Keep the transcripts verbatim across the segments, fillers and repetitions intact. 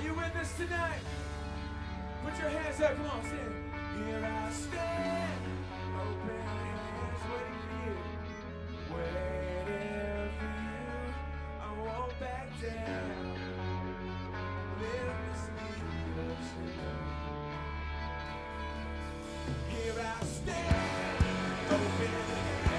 you with us tonight? Put your hands up, come on, sing. Here I stand, open hands, waiting for you, waiting for you. I won't back down. Let me speak your truth. Here I stand, open hands.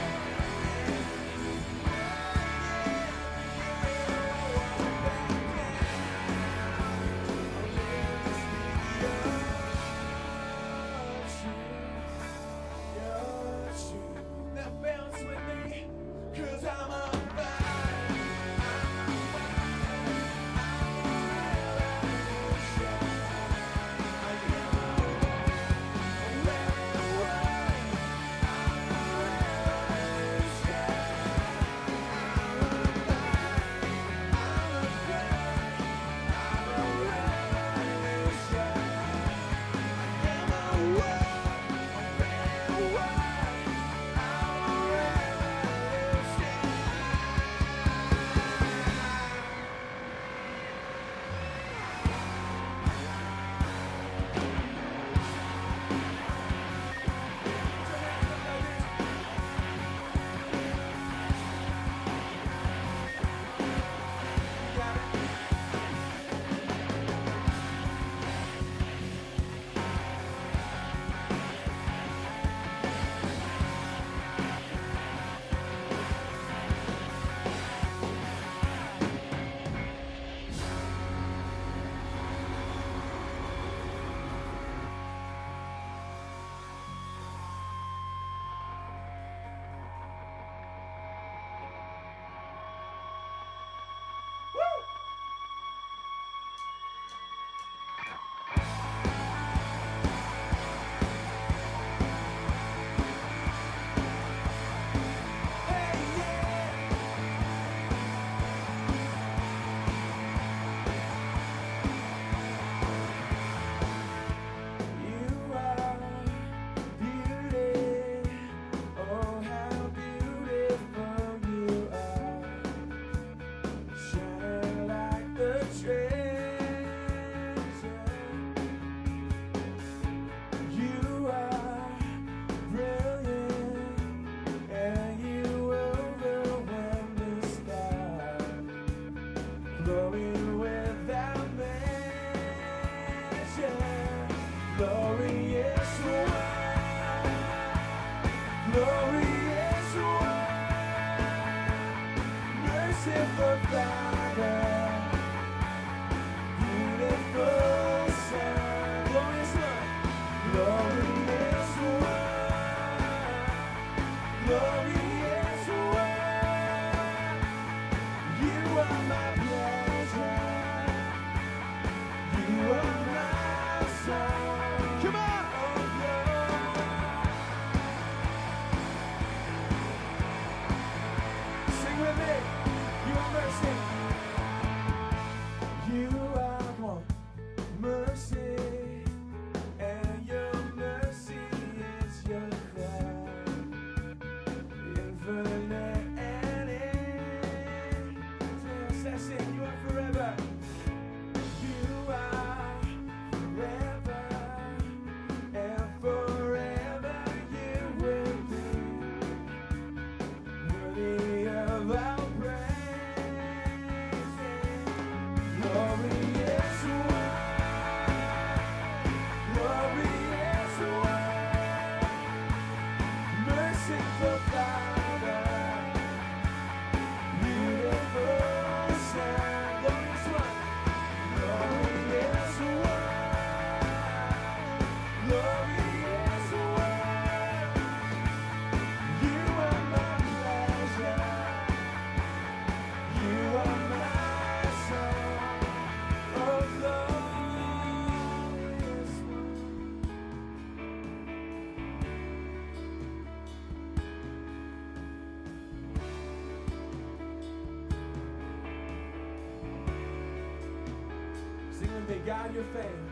God, your fame,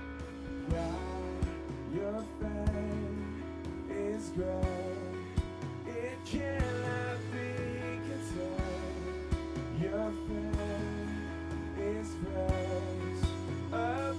God, your fame is great. It cannot be contained. Your fame is praise.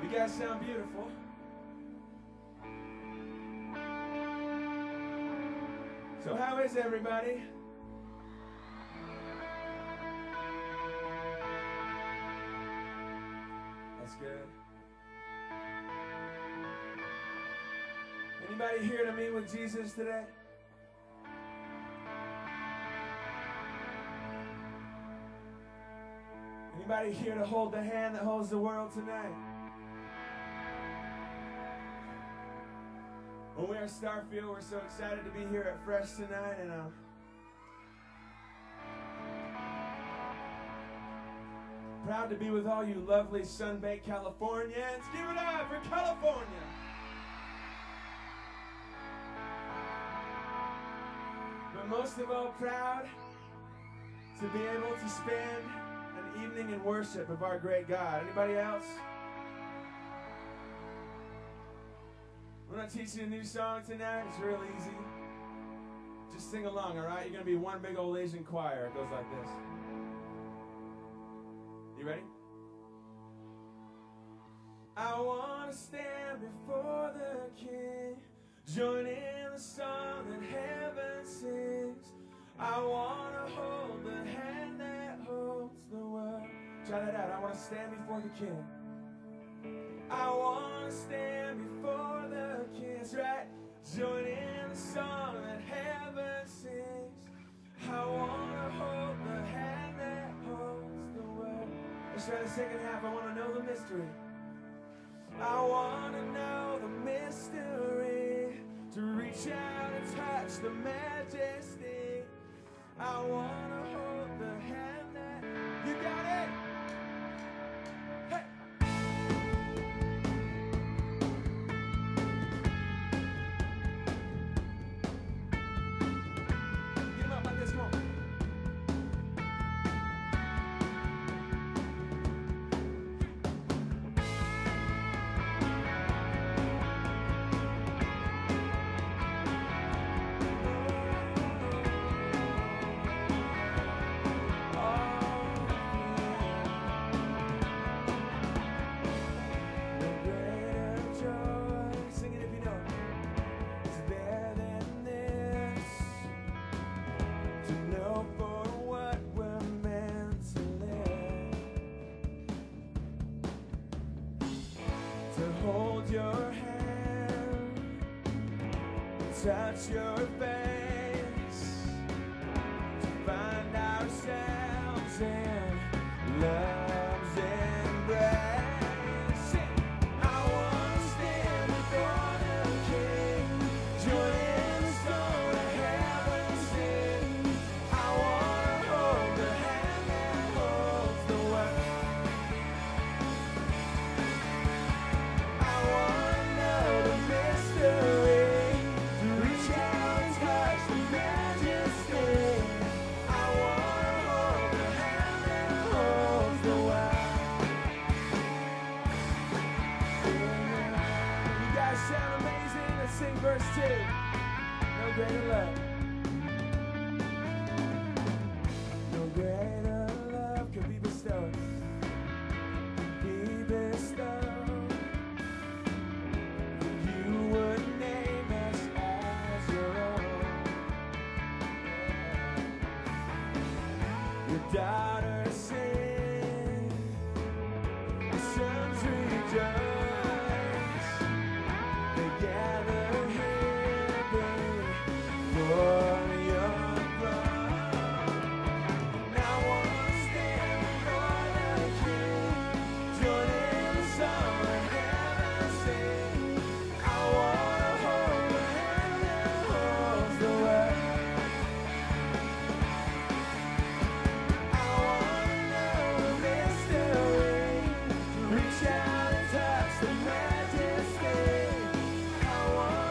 You guys sound beautiful. So how is everybody? That's good. Anybody here to meet with Jesus today? Anybody here to hold the hand that holds the world tonight? Well, we are Starfield. We're so excited to be here at Fresh tonight, and uh, proud to be with all you lovely sun-baked Californians. Give it up for California. But most of all, proud to be able to spend an evening in worship of our great God. Anybody else? We're going to teach you a new song tonight. It's real easy. Just sing along, all right? You're going to be one big old Asian choir. It goes like this. You ready? I want to stand before the King, join in the song that heaven sings. I want to hold the hand that holds the world. Try that out. I want to stand before the King. I want to stand before the King. That's right. Join in the song that heaven sings. I want to hold the hand that holds the world. Let's try the second half. I want to know the mystery. I want to know the mystery, to reach out and touch the majesty. I want to hold the hand that... You got it! Hey! Get him up like this, come on. Hold your hand, touch your face, to find ourselves in love's embrace. I want to stand before the King, join in the song that heaven sings. I want to hold the hand that holds the world. Sing verse two. No greater love. No greater love could be bestowed. Be bestowed. You would name us as your own. Your daughters sing, your sons rejoice. Gather here, baby, for your throne. Now I want to stand before the King, join in the song that heaven sings. I want to hold the hand that holds the world. I want to know the mystery, to reach out and touch the majesty. I want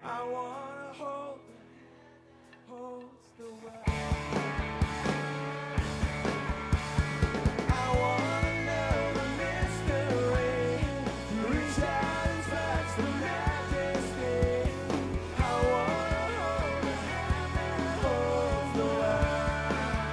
I wanna hold the hand that holds the world. I wanna know the mystery, reach out and touch the majesty. I wanna hold the hand that holds the world.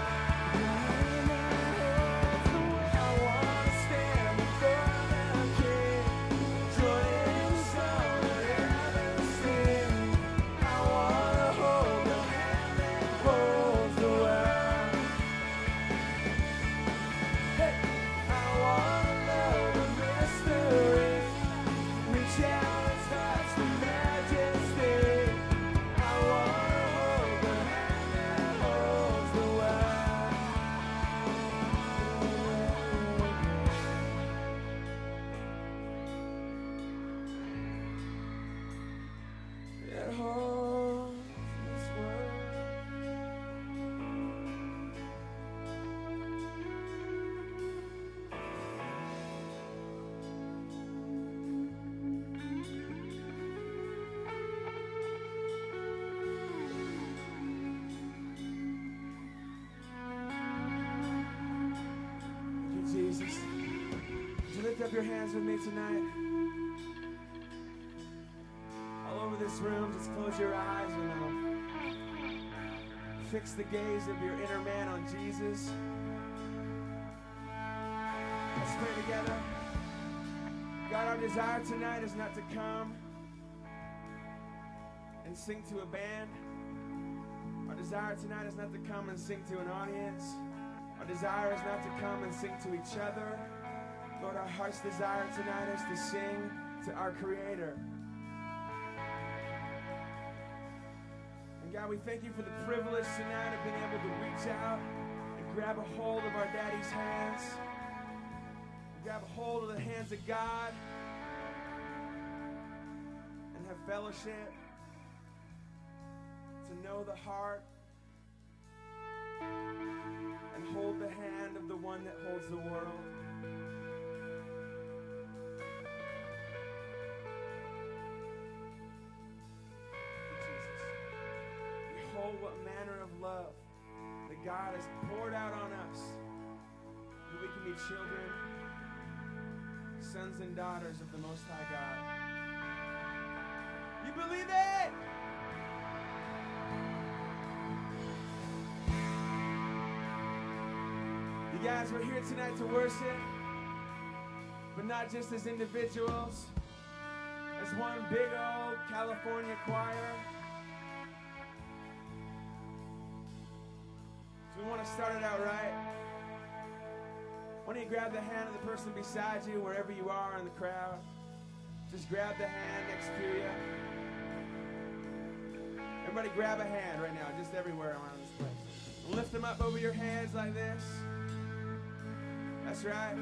I wanna stand before the King, join the song that heaven sings. I wanna hold the hand that holds the world. Hey, I wanna know the mystery, reach out and touch the majesty. I wanna hold the hand that holds the world. That holds this world. Thank you, Jesus. Would you lift up your hands with me tonight? All over this room, just close your eyes and um, fix the gaze of your inner man on Jesus. Let's pray together. God, our desire tonight is not to come and sing to a band. Our desire tonight is not to come and sing to an audience. Our desire is not to come and sing to each other. Lord, our heart's desire tonight is to sing to our Creator. And God, we thank you for the privilege tonight of being able to reach out and grab a hold of our Daddy's hands. Grab a hold of the hands of God and have fellowship, to know the heart and hold the hand of the one that holds the world. Jesus, behold what manner of love that God has poured out on us, that we can be children, sons and daughters of the Most High God. You believe it? You guys, we're here tonight to worship, but not just as individuals, as one big old California choir. So we want to start it out right. Why don't you grab the hand of the person beside you, wherever you are in the crowd. Just grab the hand next to you. Everybody grab a hand right now, just everywhere around this place. And lift them up over your heads like this. That's right.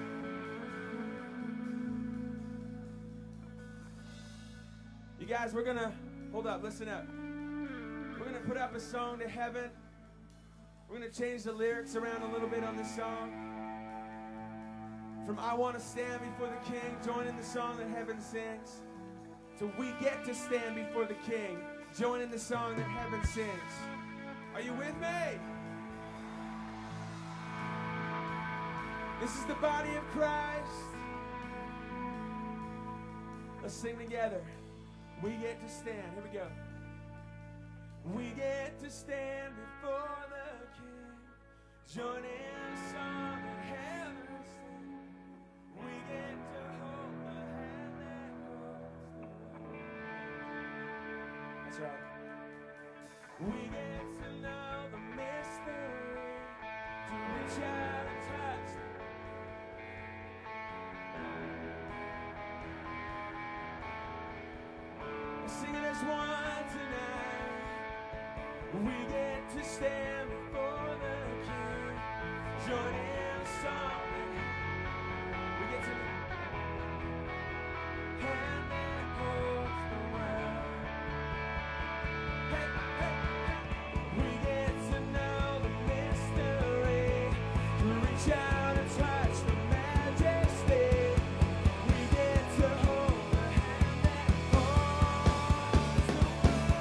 You guys, we're going to, hold up, listen up. We're going to put up a song to heaven. We're going to change the lyrics around a little bit on this song. From I want to stand before the King, join in the song that heaven sings, to we get to stand before the King, join in the song that heaven sings. Are you with me? This is the body of Christ. Let's sing together. We get to stand. Here we go. We get to stand before the King, join in the song that heaven sings. We get to hold the hand that holds the world. That's right. We get to know the mystery, to reach out and touch. We're singing as one tonight. We get to stand before the King, join in the song. We get to hand that holds the world. Hey, hey, hey. We get to know the mystery, to reach out and touch the majesty. We get to hold the hand that holds the world.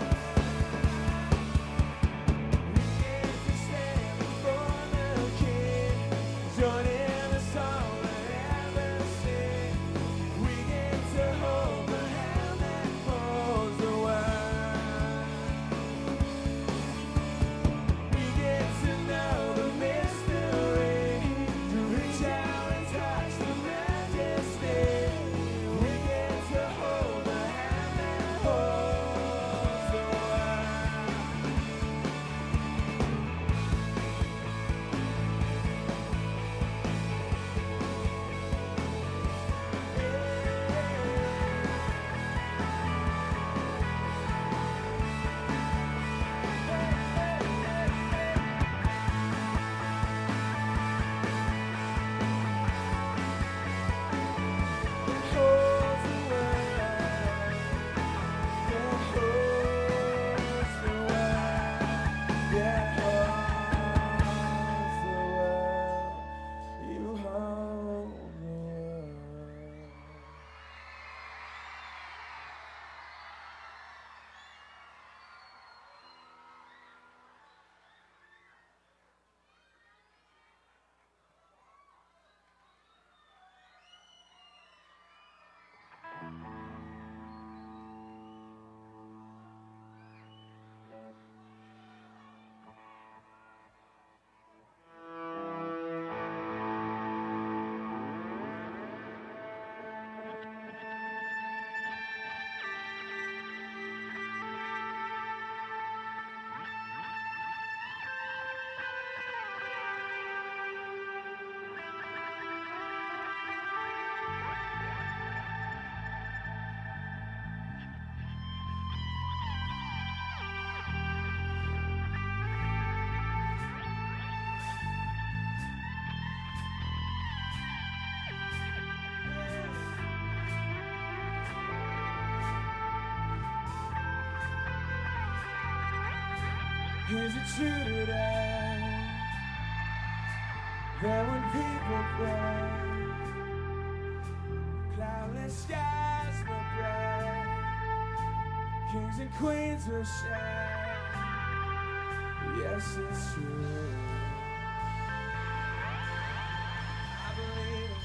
Is it true today that when people pray, cloudless skies will bright, kings and queens will shine? Yes, it's true. I believe it.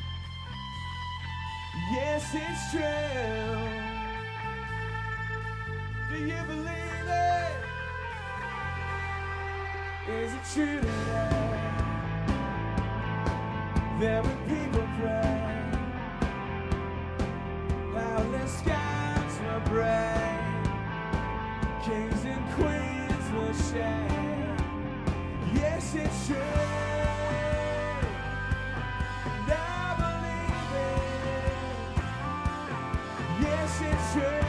Yes, it's true. Do you believe it? Is it true today that when people pray, cloudless skies will break, kings and queens will shine? Yes, it's true. And I believe it. Yes, it's true.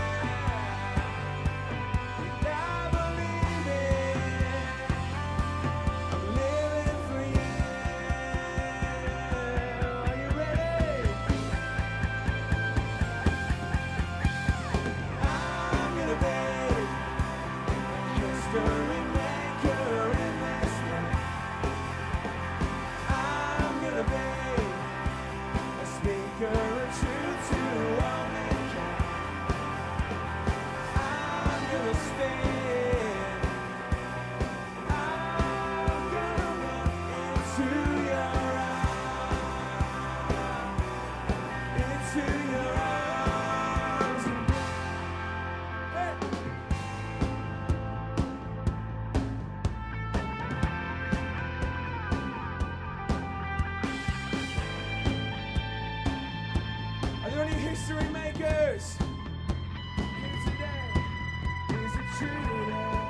History makers here today. Is it true today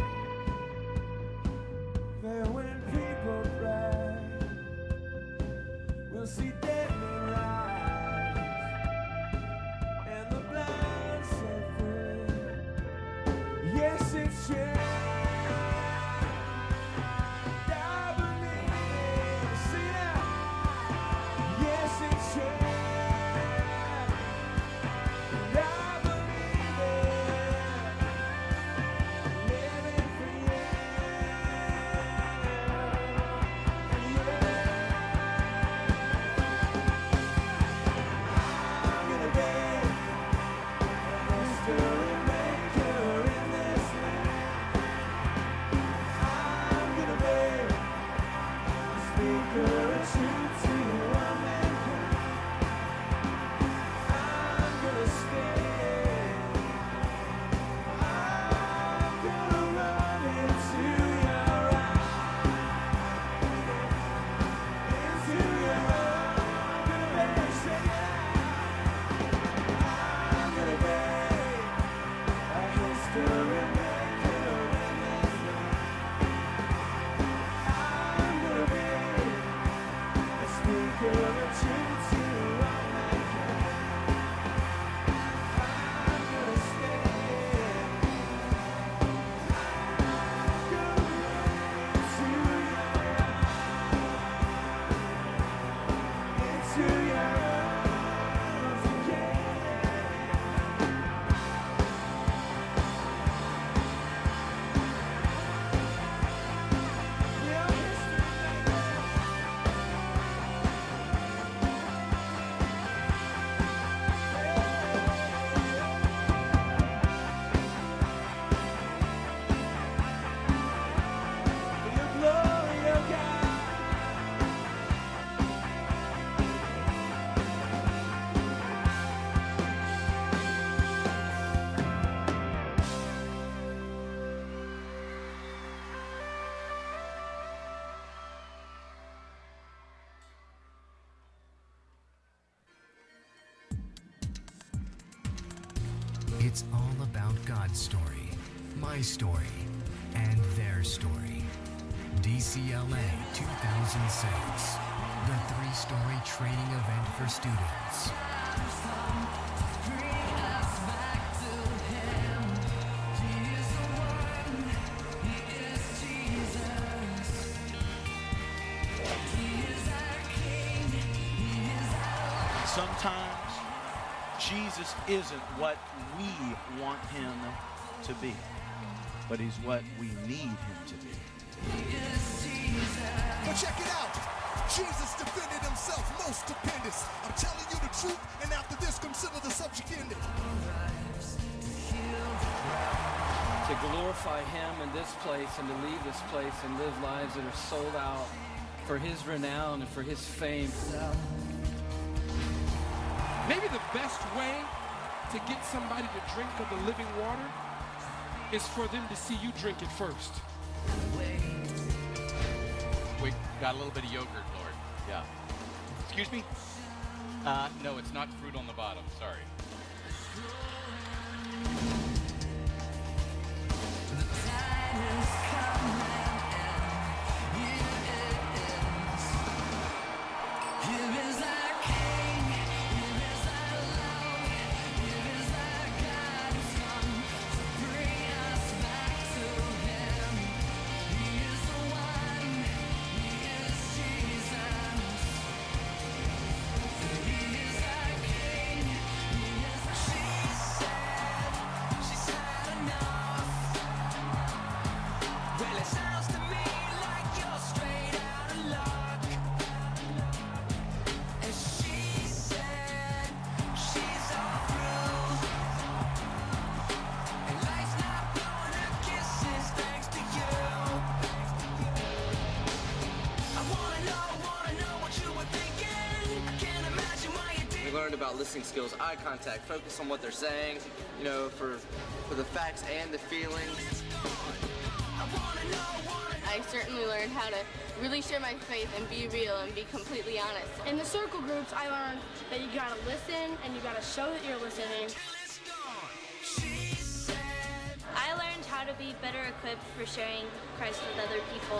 that when people pray, we'll see dead men rise and the blind set free? Yes, it's true. I believe it. See now. Yes, it's true. It's all about God's story, my story, and their story. D C L A two thousand six, the three-story training event for students. Sometimes Jesus isn't what we want him to be. but he's what we need him to be. But check it out. Jesus defended himself most stupendous. I'm telling you the truth, and after this, consider the subject ended. To glorify him in this place and to leave this place and live lives that are sold out for his renown and for his fame. Maybe the best way to get somebody to drink of the living water is for them to see you drink it first. We got a little bit of yogurt, Lord. Yeah. Excuse me? Uh, no, it's not fruit on the bottom. Sorry. About listening skills, eye contact, focus on what they're saying, you know, for for the facts and the feelings. I certainly learned how to really share my faith and be real and be completely honest. In the circle groups, I learned that you gotta listen and you gotta show that you're listening. I learned how to be better equipped for sharing Christ with other people.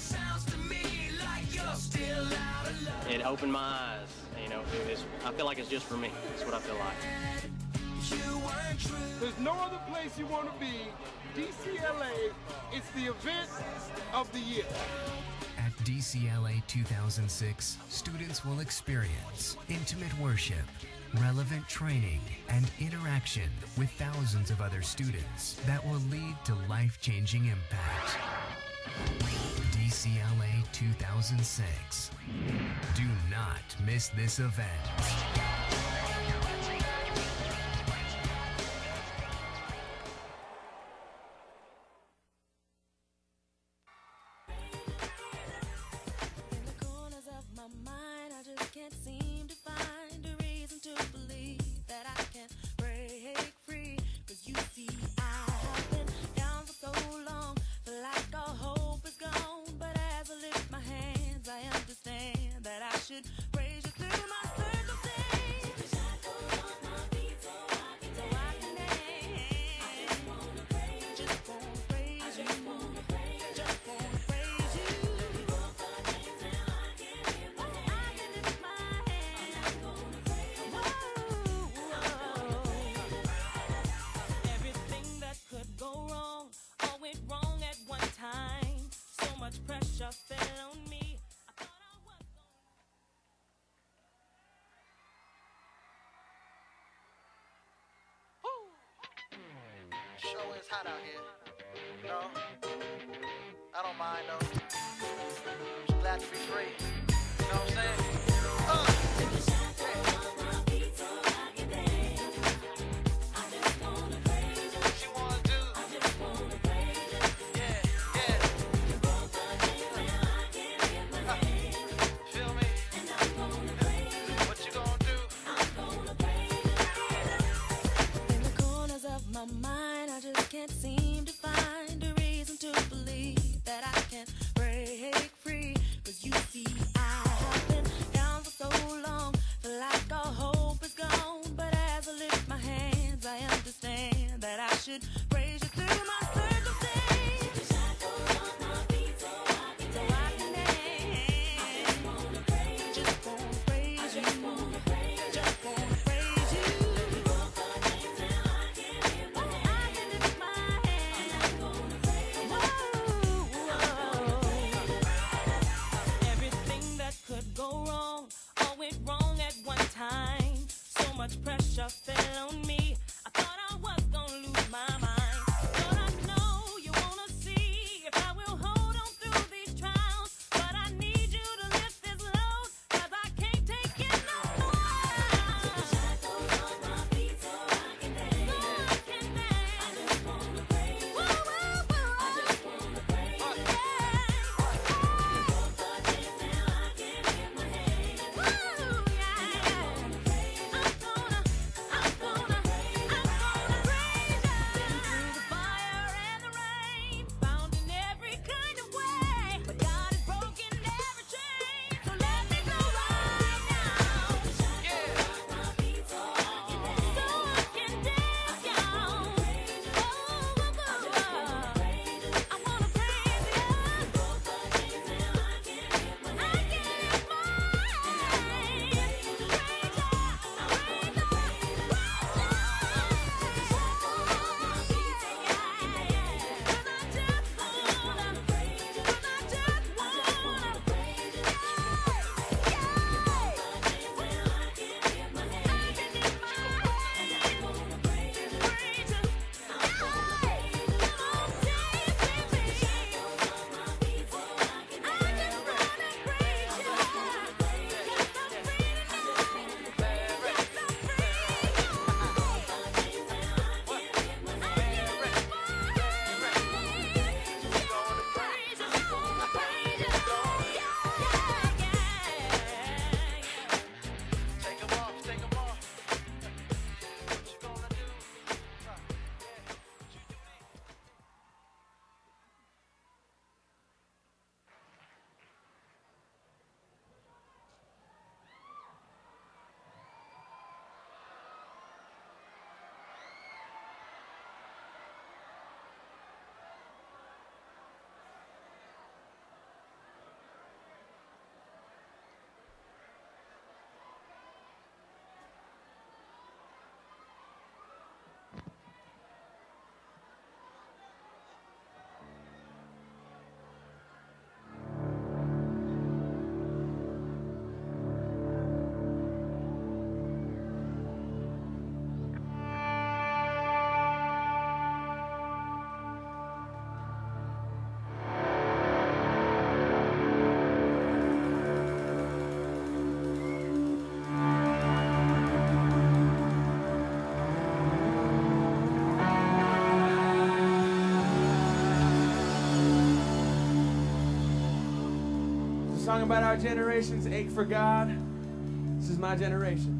It opened my eyes. You know, it's, I feel like it's just for me. That's what I feel like. There's no other place you want to be. D C L A, it's the event of the year. At D C L A two thousand six, students will experience intimate worship, relevant training, and interaction with thousands of other students that will lead to life-changing impact. D C L A two thousand six. Do not miss this event. Sure is hot out here. No, I don't mind though. I'm just glad to be free. You know what I'm saying? Uh. Can't seem to find a reason to believe that I can break free. Cause you see, I have been down for so long, feel like all hope is gone. But as I lift my hands, I understand that I should praise you through my circumstance. So I can dance. Just wanna praise you. Just wanna praise you. Just wanna praise you. Much pressure fell on me. I thought I was gonna lose my mind. song about our generation's ache for God. This is my generation.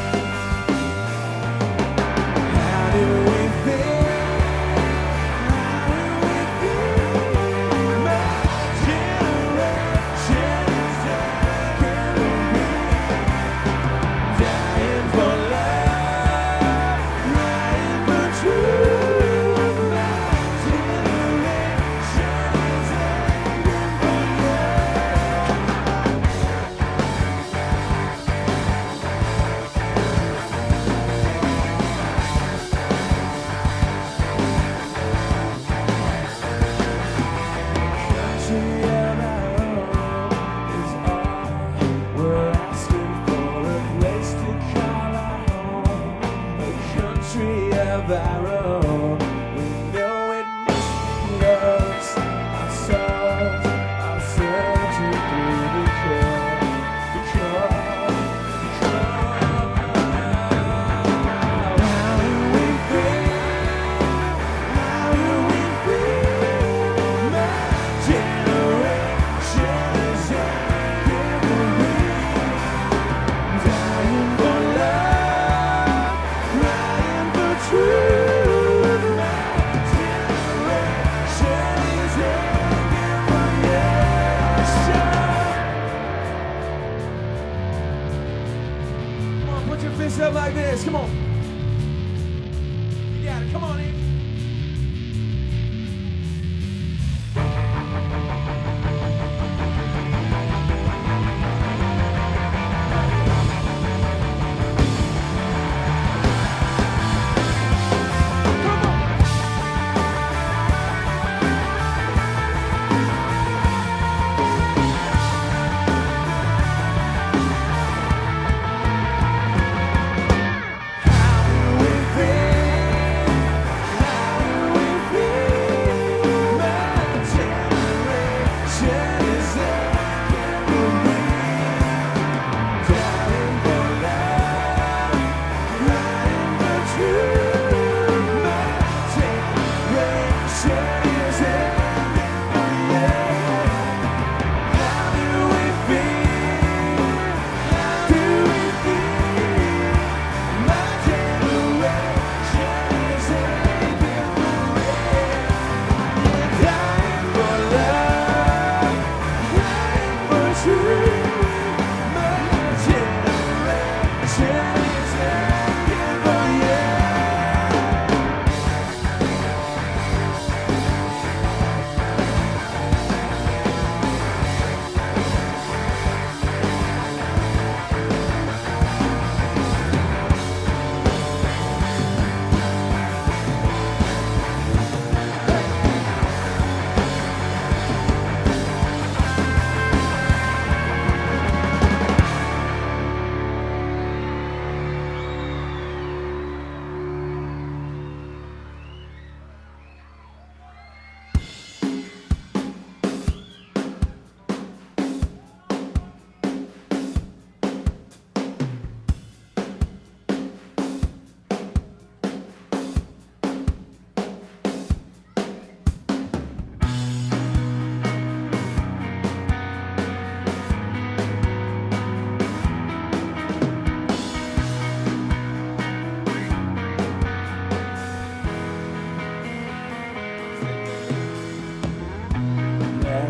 How do we feel?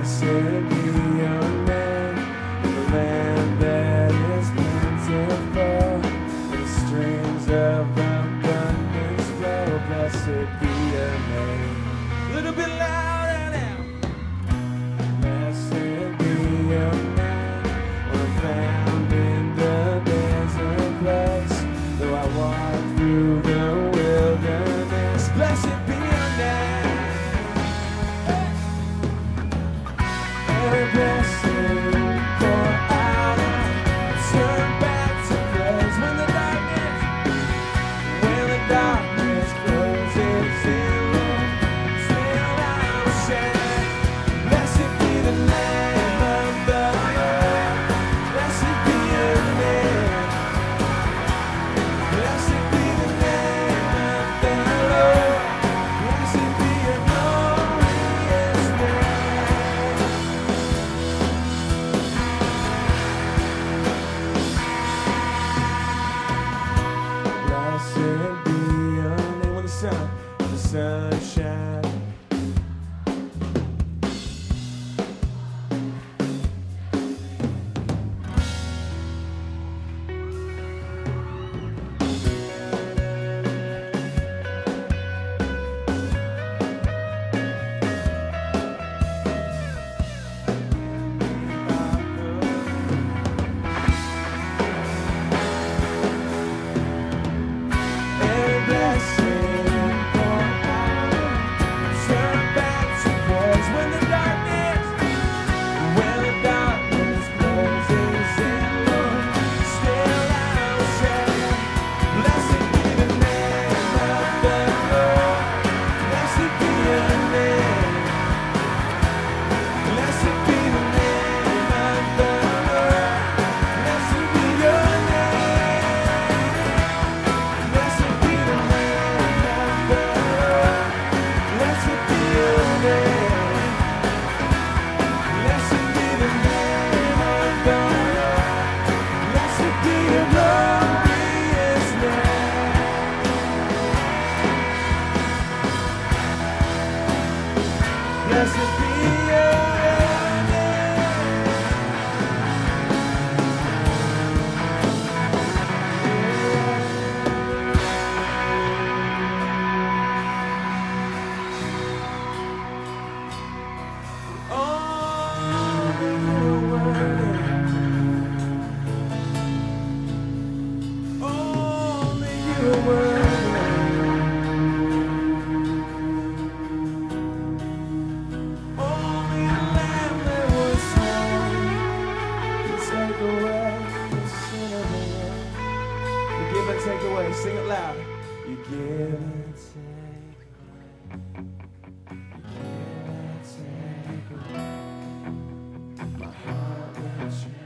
Blessed be your name, the land that is plentiful, the streams of abundance flow. Blessed be your name. A little bit louder now. Blessed be your name, we're found in the desert place. Though I walk through the wilderness, blessed be your name. Every blessing pour out, turn back to praise. When the darkness, when the darkness closes in, still I will shine. Blessed be the name of the Lord. Blessed be your name. Blessed be the name of the Lord. Blessed be your glorious name. Blessed be your name. When the sun, when the sun shines. Every blessing pour out, turn back to praise. When the darkness, when the darkness closes in, Lord, still I will shine. Blessed be the name of the Lord. Blessed be your name. Blessed be the name of the Lord. Blessed be your name. Blessed be the name of the Lord. Blessed be your name. Blessed be the name of the Lord. Blessed be your glorious name. Blessed be your Only you are worthy. Only you are worthy. Only the Lamb that was slain can take away the sin of the world. You give and take away. Sing it loud. You give and take my heart with you.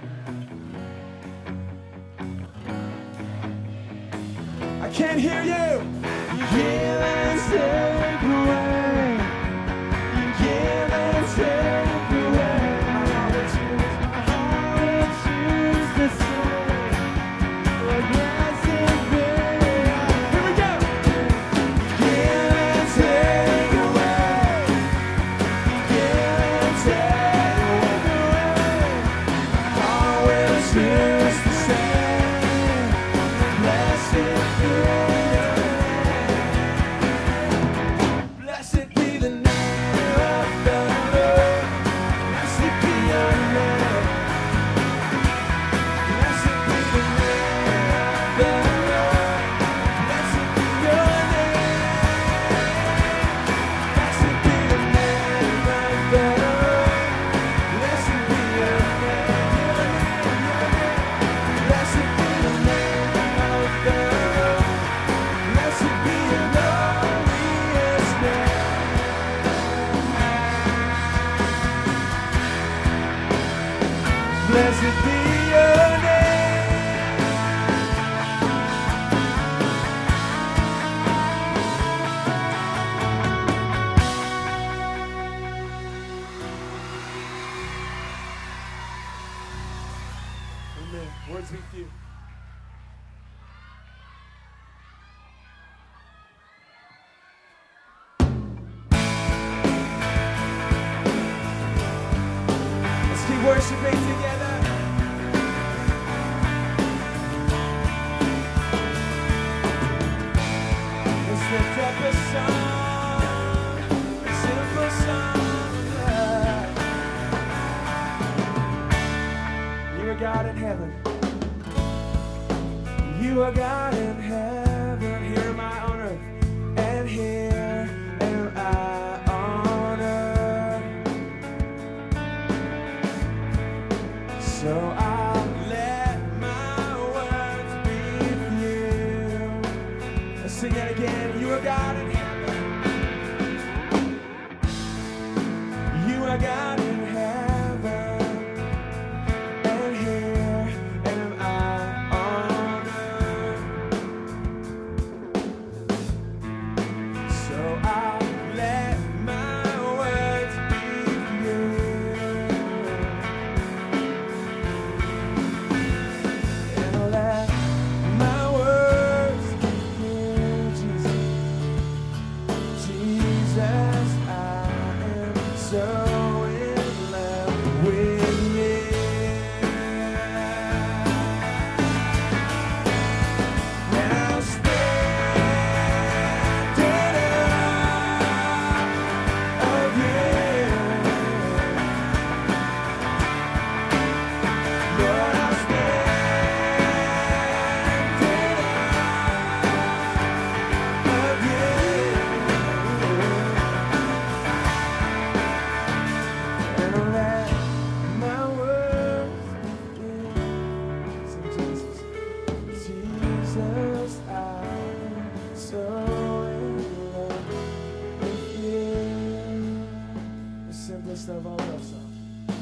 I can't hear you. You give and take away. You give and take away. My heart will choose. My heart will choose the same. Lord, blessed be. Here we go. You give and take away. You give and take away. My heart will choose the same. Blessed be your name. Blessed be the name of the Lord. Blessed be your name. Blessed be the name of the Lord. Blessed be your name. Blessed be the name of the Lord. Blessed be your name. Blessed be the name of the Lord. Blessed be your glorious name. Blessed be your name. Amen. Words be few. worshiping together. Let's lift up a song, a simple song of love. You are God in heaven. You are God in heaven. Here am I on earth, and here am I on earth. So I'll let my words be few. Let's sing that again. You are God in heaven. You are God in heaven. And here am I on earth. So I'll let my words be few. And I'll let my words be few, Jesus. Jesus, I am so in love with you. And I'll stand in awe of you. Lord, I'll stand in awe of you. And I'll let my words be few. Sing Jesus. Jesus, I'm so in love with you. The simplest of all love songs.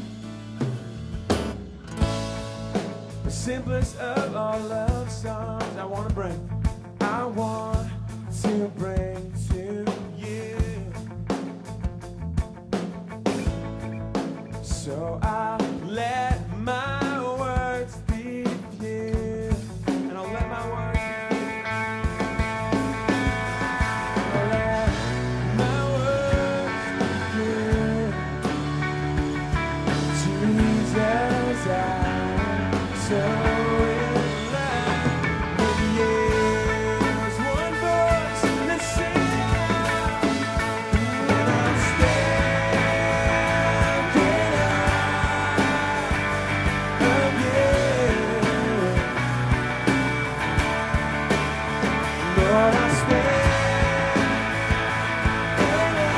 The simplest of all love songs I want to bring. I want to bring to you. So I'll let my words be few. And I'll let my words be few. I'll let my words be few. Jesus, I'm so in love with you. There's one voice that sings, and I'll stand in awe of you. Lord, I'll stand in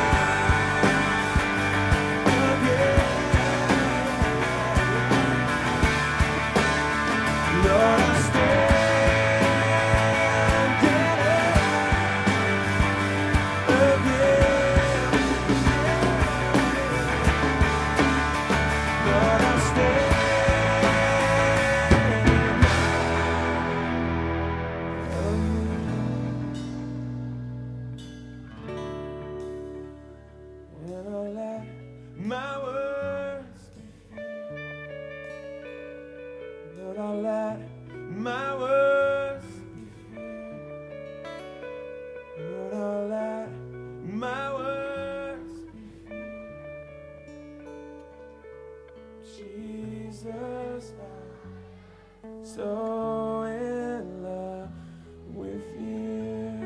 awe of you. Lord, I'll stand in awe of you. Lord, I'll stand and I'll let my words be few. Lord, I'll let my words be few. Lord, I'll let my words be few. Jesus, I'm so in love with you.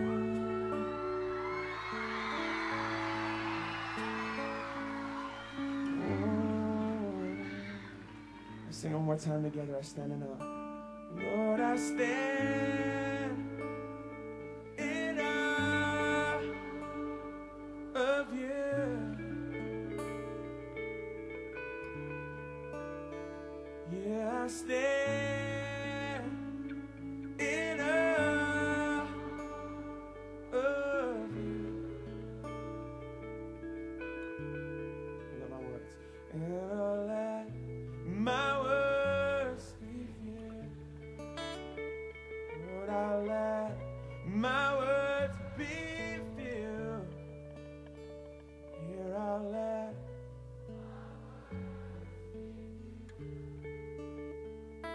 Let's sing one more time together. I stand in awe. Lord, I stand in awe of you. Yeah, I stand in awe of you. Let my words. And I'll let my words be few. Lord, I'll let my words be few. Here I'll let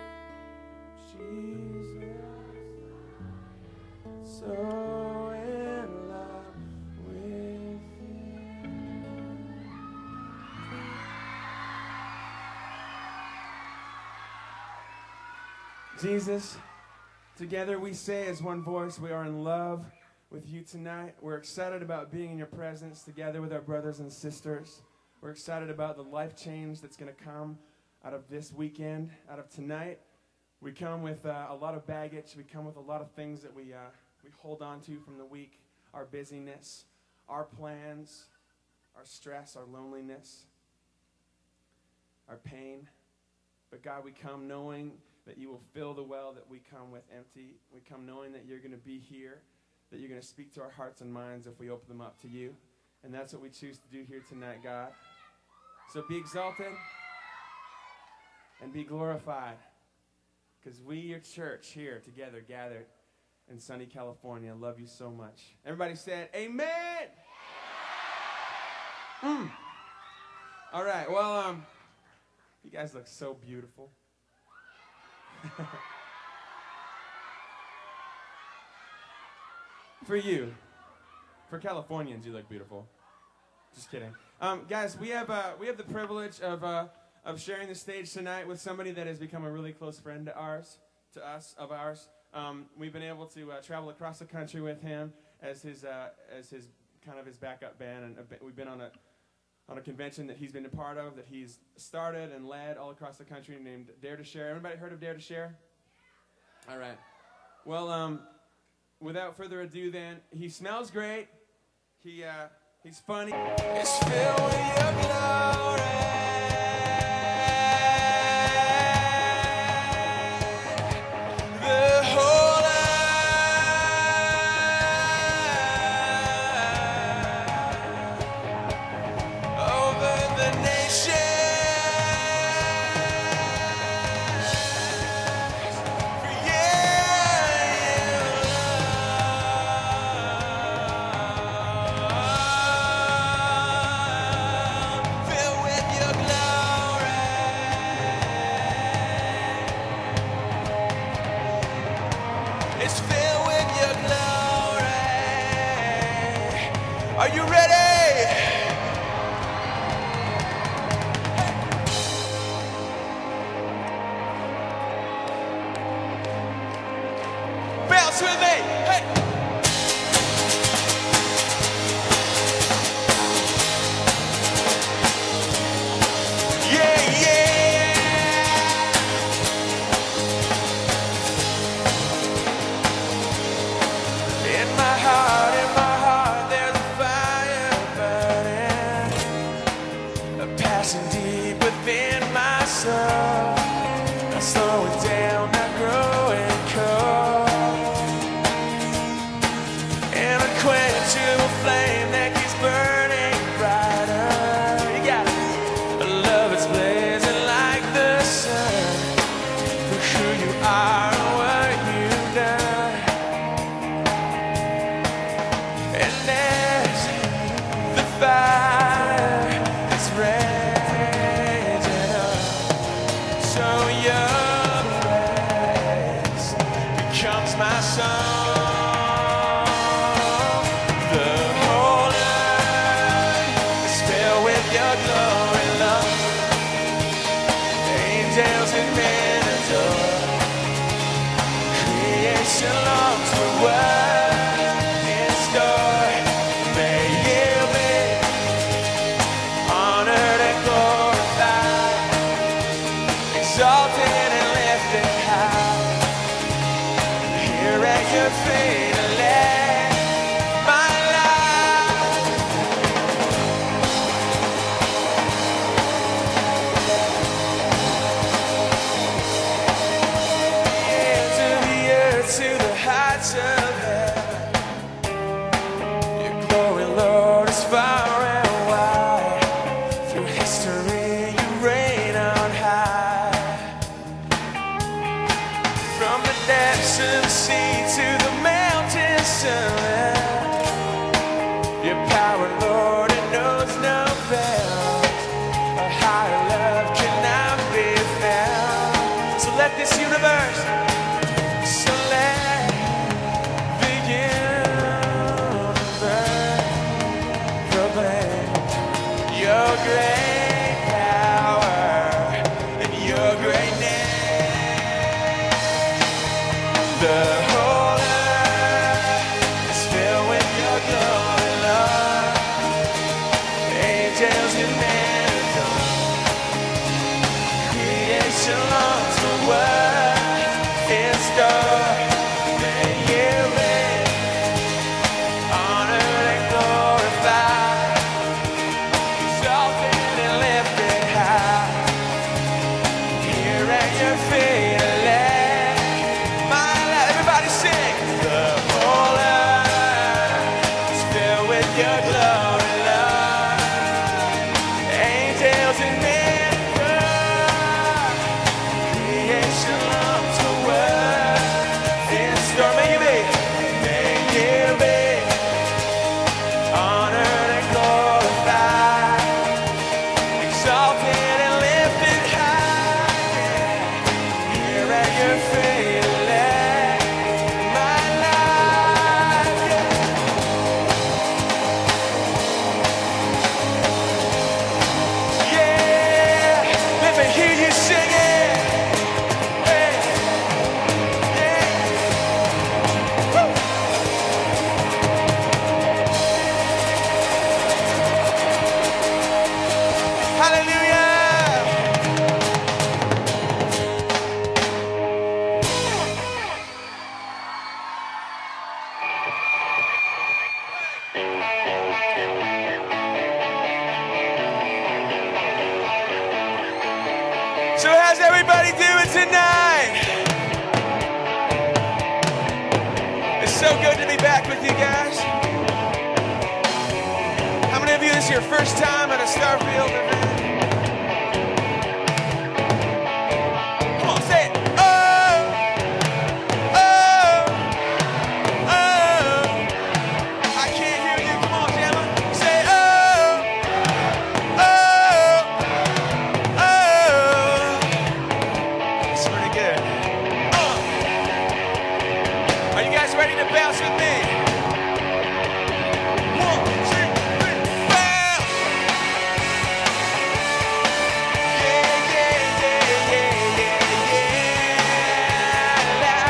Jesus, together we say as one voice, we are in love with you tonight. We're excited about being in your presence together with our brothers and sisters. We're excited about the life change that's going to come out of this weekend, out of tonight. We come with uh, a lot of baggage. We come with a lot of things that we, uh, we hold on to from the week, our busyness, our plans, our stress, our loneliness, our pain. But God, we come knowing that you will fill the well that we come with empty. We come knowing that you're going to be here, that you're going to speak to our hearts and minds if we open them up to you. And that's what we choose to do here tonight, God. So be exalted and be glorified, because we, your church, here together, gathered in sunny California, love you so much. Everybody said, amen! Mm. All right, well, um, you guys look so beautiful. For you. For Californians, you look beautiful. Just kidding. Um, guys, we have uh, we have the privilege of uh, of sharing the stage tonight with somebody that has become a really close friend to ours, to us, of ours. Um, we've been able to uh, travel across the country with him as his uh, as his kind of his backup band, and a, we've been on a on a convention that he's been a part of, that he's started and led all across the country, named Dare to Share. Everybody heard of Dare to Share? All right. Well, um, without further ado, then, he smells great. He uh, he's funny. It's filled with your glory. The whole earth over the nation. Are you ready? Bounce with me. Hey. Yeah, yeah. In my heart, in my heart, there's deep within myself. I slow it down, I grow it cold. And a quenchable flame that keeps burning brighter. You got it. A love that's blazing like the sun. For who you are and what you've done. And as the fire is red, my song, the whole earth is filled with your glory, love. Angels and men adore. Creation longs for what's in store. May you be honored and glorified, exalted and lifted high. Here at your feet, I lay my life. To the earth, to the heights of heaven. Your glory, Lord, is far and wide. Through history, you reign on high. From the depths of the sea to the mountain summit, your power, Lord, it knows no bounds. A higher love cannot be found. So let this universe, so let the universe proclaim your great power and your great name. The whole earth is filled with your glory, Lord. Angels and men adore. Creation longs for what in store. May you reign, honored and glorified, exalted and lifted high. Here at your feet, let my life. Everybody sing. The whole earth is filled with your glory, Lord. Angels and men adore. Creation longs for what in store. May you be, may you be honored and glorified, exalted and lifted high. Here at your feet, let my life, yeah. Yeah, let me hear you sing it. Hey, yeah. Woo. Hallelujah. So how's everybody doing tonight? It's so good to be back with you guys. How many of you, this is your first time at a Starfield event? Come on, say it. Oh, oh, oh. I can't hear you. Come on, Gemma. Say oh, oh, oh. It's pretty good. Uh. Are you guys ready to bounce with me? One, two, three, bounce! Yeah, yeah, yeah, yeah, yeah, yeah. La.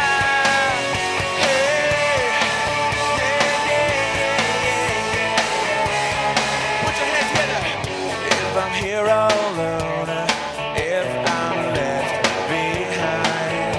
Hey. Yeah, yeah, yeah, yeah, yeah. Put your hands together. If I'm here all alone, if I'm left behind,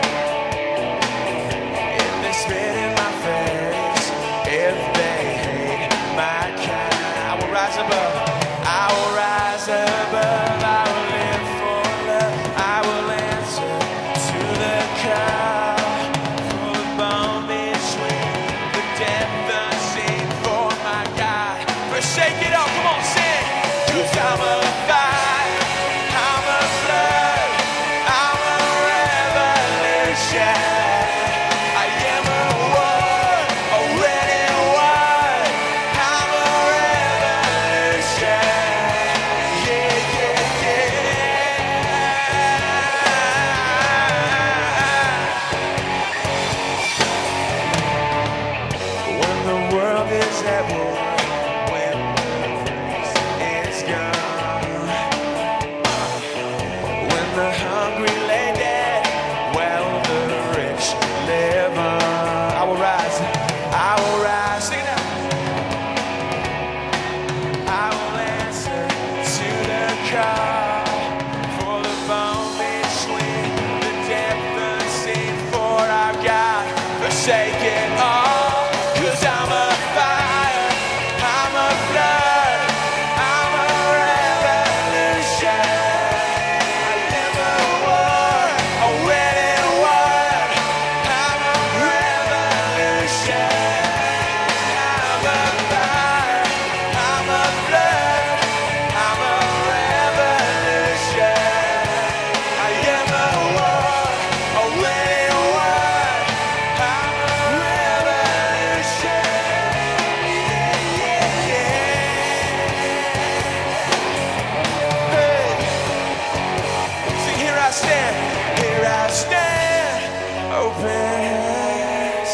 if they spit in my face, if they hate my kind, I will rise above. I will rise above. I will live for love. I will answer to the call for the bone between the depth unseen for my God. Forsake it all. Come on, sing. 'Cause I'm a fire. I'm a flood. I'm a revolution. I am a war, a winning war. I'm a revolution. Yeah, yeah, yeah. When the world is at war, when it's gone, when the hungry lay dead, while the rich live on. I will rise, I will rise. Sing it out. I will answer to the call for the bone between the depth unseen for our God. Forsake it all. 'Cause I'm a fire, I'm a flood, I'm a revolution. I am a war, a winning war. I'm a revolution. I'm a fire, I'm a flood, I'm a revolution. I am a war, a winning war. I'm a revolution. Yeah, yeah, yeah. Hey. Sing, here I stand, here I stand, open hands,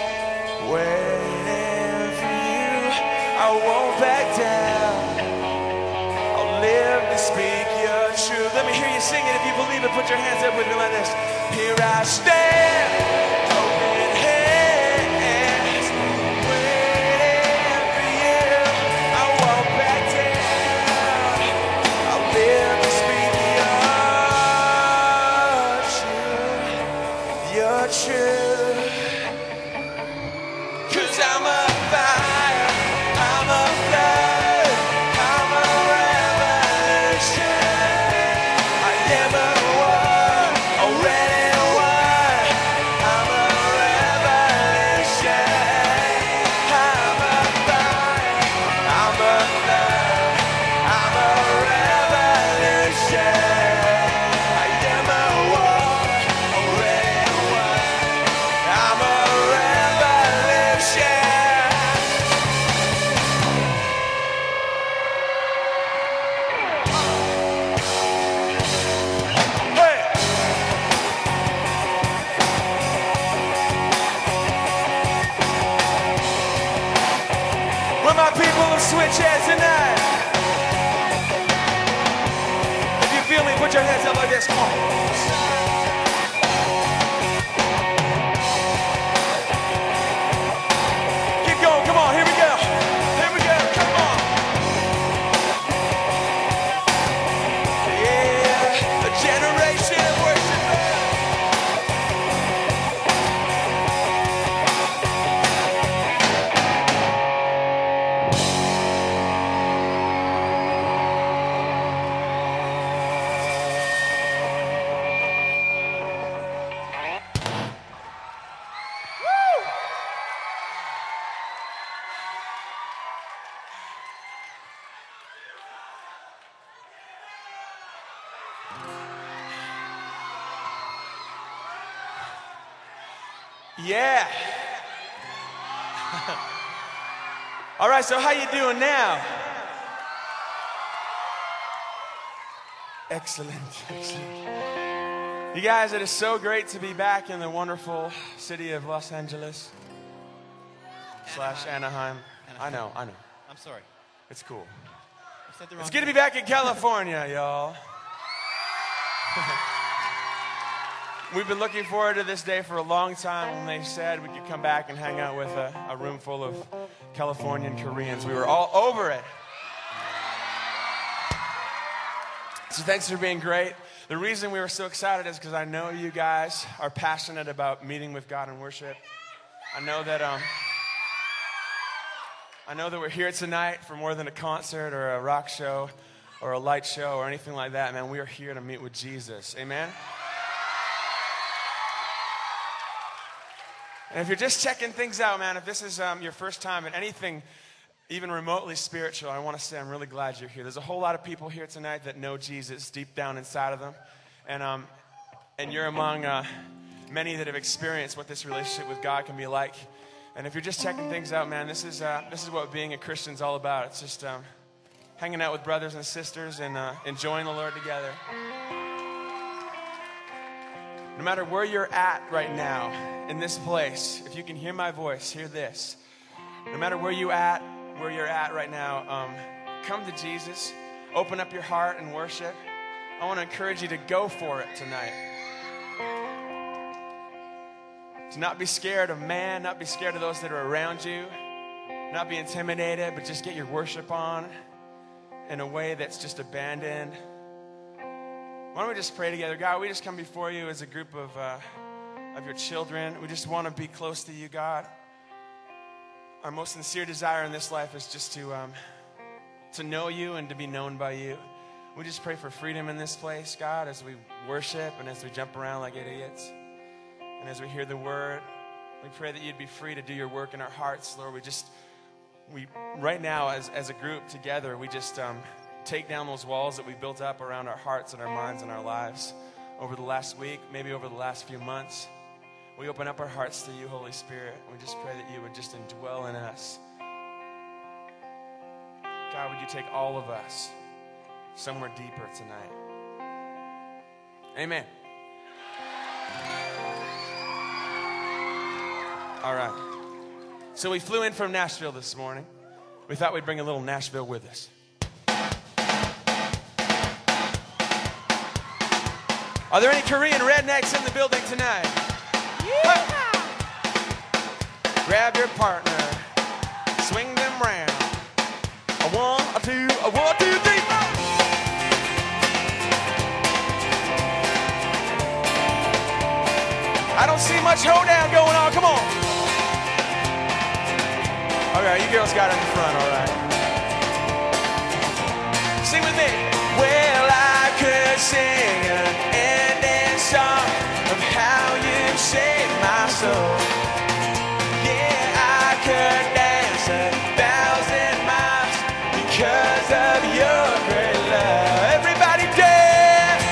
waiting for you. I won't back down. I'll live to speak your truth. Let me hear you sing it if you believe it. Put your hands up with me like this. Here I stand, Put your hands up like this. Come on. Keep going. Come on. Here we go. Here we go. Come on. Yeah. A generation of worshipers. Yeah. All right, so how you doing now? Excellent, excellent. You guys, it is so great to be back in the wonderful city of Los Angeles slash Anaheim. I know, I know. I'm sorry. It's cool. I said the wrong It's good to be back in California, y'all. We've been looking forward to this day for a long time when they said we could come back and hang out with a, a room full of Californian Koreans. We were all over it. So thanks for being great. The reason we were so excited is because I know you guys are passionate about meeting with God and worship. I know that um, I know that we're here tonight for more than a concert or a rock show or a light show or anything like that, man. We are here to meet with Jesus. Amen? And if you're just checking things out, man, if this is um, your first time at anything even remotely spiritual, I want to say I'm really glad you're here. There's a whole lot of people here tonight that know Jesus deep down inside of them. And um, and you're among uh, many that have experienced what this relationship with God can be like. And if you're just checking things out, man, this is uh, this is what being a Christian's all about. It's just um, hanging out with brothers and sisters and uh, enjoying the Lord together. No matter where you're at right now in this place, if you can hear my voice, hear this. No matter where you at, where you're at right now, um, come to Jesus. Open up your heart and worship. I want to encourage you to go for it tonight. To not be scared of man, not be scared of those that are around you, not be intimidated, but just get your worship on in a way that's just abandoned. Why don't we just pray together? God, we just come before you as a group of uh, of your children. We just want to be close to you, God. Our most sincere desire in this life is just to um, to know you and to be known by you. We just pray for freedom in this place, God, as we worship and as we jump around like idiots. And as we hear the word, we pray that you'd be free to do your work in our hearts, Lord. We just, we right now as, as a group together, we just um, take down those walls that we built up around our hearts and our minds and our lives over the last week, maybe over the last few months. We open up our hearts to you, Holy Spirit. We just pray that you would just indwell in us. God, would you take all of us somewhere deeper tonight? Amen. All right. So we flew in from Nashville this morning. We thought we'd bring a little Nashville with us. Are there any Korean rednecks in the building tonight? Yeah. Grab your partner, swing them round. A one, a two, a one, two, three, four. I don't see much hoedown going on. Come on. All right, you girls got it in the front, all right. Sing with me. Well, I could sing an ending song of how you saved my soul. Yeah, I could dance a thousand miles because of your great love. Everybody dance.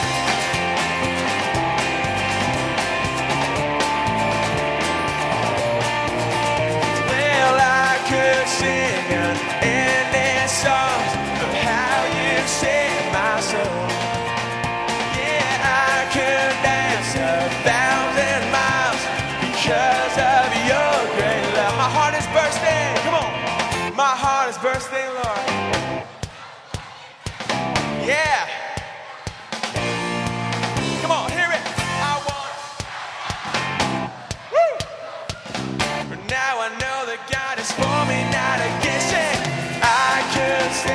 Well, I could sing an ending song of how you saved my soul.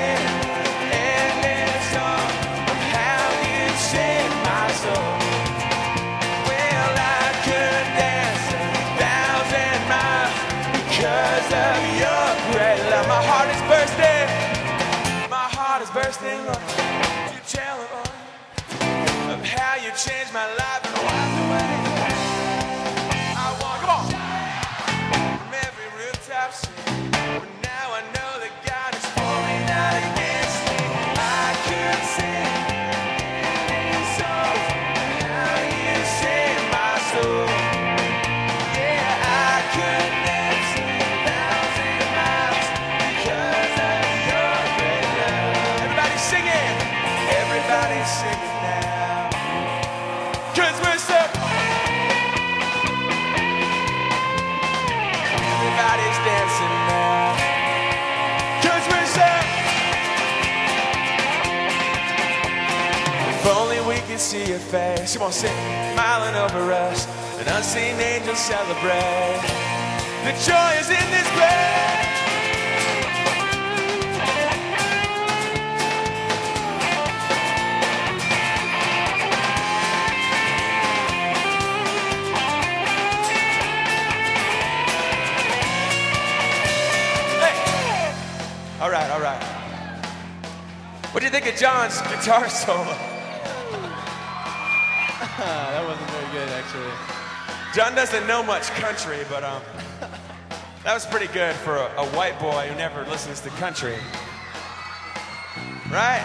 sing an endless song of how you saved my soul. Well, I could dance a thousand miles because of your great love. My heart is bursting. My heart is bursting, Lord, to tell it all of how you changed my life and wiped away. I want, come on, from every rooftop scene. But now I know that God is for me, not against me. I could sing any song how you saved my soul. Yeah, I could dance a thousand miles because of your great love. Everybody singing, everybody singing now, 'cause we're so. Everybody's dancing now, 'cause we're so. If only we could see your face. Come on, sing, smiling over us. An unseen angel celebrate. The joy is in this place. All right, all right. What do you think of John's guitar solo? That wasn't very good, actually. John doesn't know much country, but um, that was pretty good for a, a white boy who never listens to country. Right?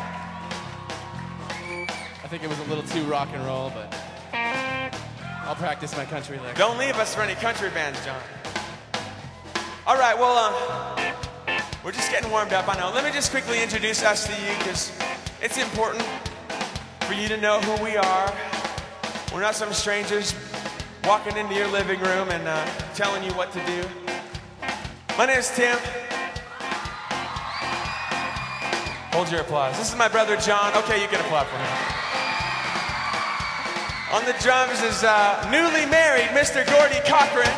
I think it was a little too rock and roll, but I'll practice my country licks. Don't leave us for any country bands, John. All right, well, um, we're just getting warmed up, I know. Let me just quickly introduce us to you, because it's important for you to know who we are. We're not some strangers walking into your living room and uh, telling you what to do. My name is Tim. Hold your applause. This is my brother John. Okay, you can applaud for him. On the drums is uh, newly married Mister Gordy Cochran.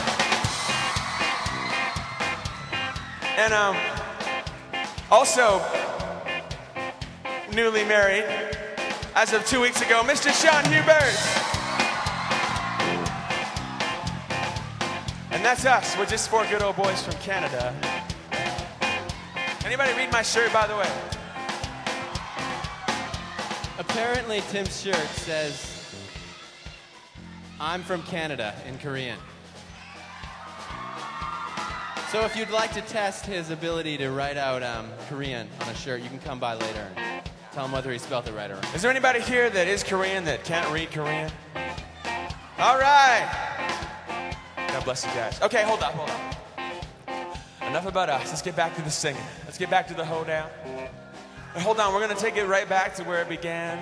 And um, also newly married, as of two weeks ago, Mister Sean Hubert. And that's us. We're just four good old boys from Canada. Anybody read my shirt, by the way? Apparently, Tim's shirt says, "I'm from Canada" in Korean. So if you'd like to test his ability to write out um, Korean on a shirt, you can come by later and tell him whether he spelled it right or wrong. Is there anybody here that is Korean that can't read Korean? All right. God bless you guys. Okay, hold up, hold up. Enough about us. Let's get back to the singing. Let's get back to the hoedown. Now, hold on, we're going to take it right back to where it began.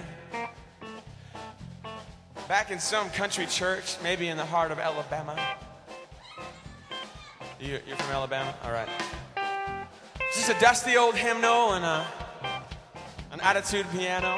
Back in some country church, maybe in the heart of Alabama. You, you're from Alabama? All right. It's just a dusty old hymnal and a, an attitude piano.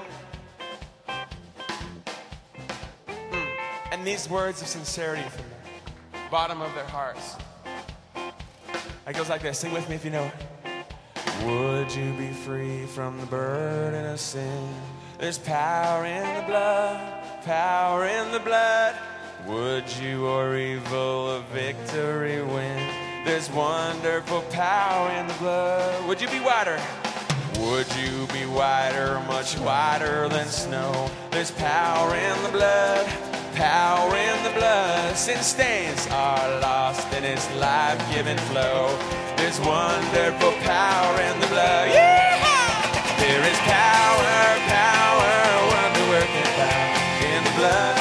Mm. And these words of sincerity from the bottom of their hearts. It goes like this. Sing with me if you know it. Would you be free from the burden of sin? There's power in the blood, power in the blood. Would you or evil a victory win? There's wonderful power in the blood. Would you be whiter? Would you be whiter, much whiter than snow? There's power in the blood, power in the blood. Sin stains are lost in its life-giving flow. There's wonderful power in the blood. Yeah! There is power, power, wonder-working power in the blood.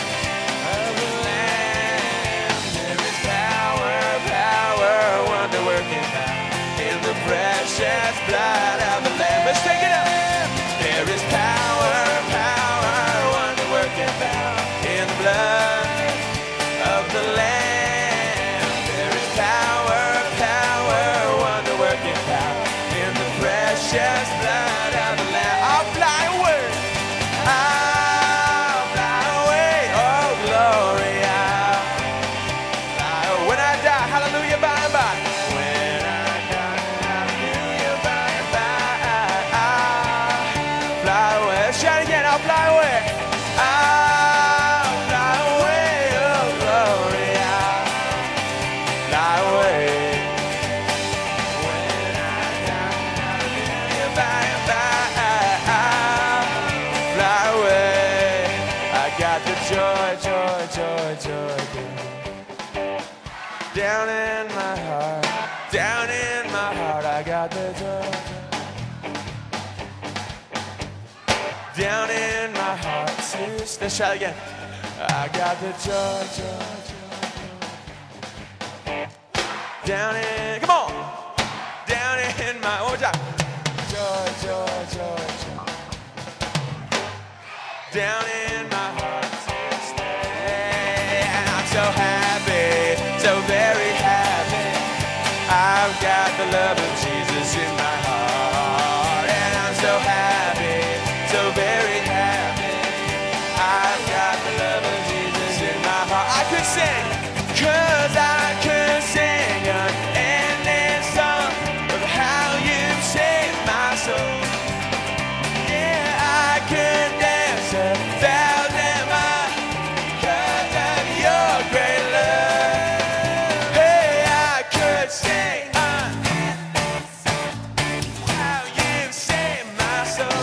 Precious blood of the Lamb. Let's take it up. There is power, power, wonder-working power in the blood of the Lamb. There is power, power, wonder-working power in the precious blood of the Lamb. I'll fly away. I'll fly away. Oh, glory. I'll fly away. When I die, hallelujah, by and by. away. I'll fly away, oh glory, I'll fly away. When I die, I'll by and by, I'll fly away. I got the joy, joy, joy, joy, joy. Down in my heart, down in my heart, I got the joy. Down in my heart, sis. Let's try it again. I got the joy, joy, joy. Down in, come on. Down in my, one more time. Joy, joy, joy, joy. Down in my heart, sis. And I'm so happy, so very happy. I've got the love of Jesus in my heart. And I'm so happy, so very happy. I've got the love of Jesus in my heart. I could sing, cause I could sing an endless song of how you saved my soul. Yeah, I could dance a thousand miles because of your great love. Hey, I could sing an endless song how you saved my soul.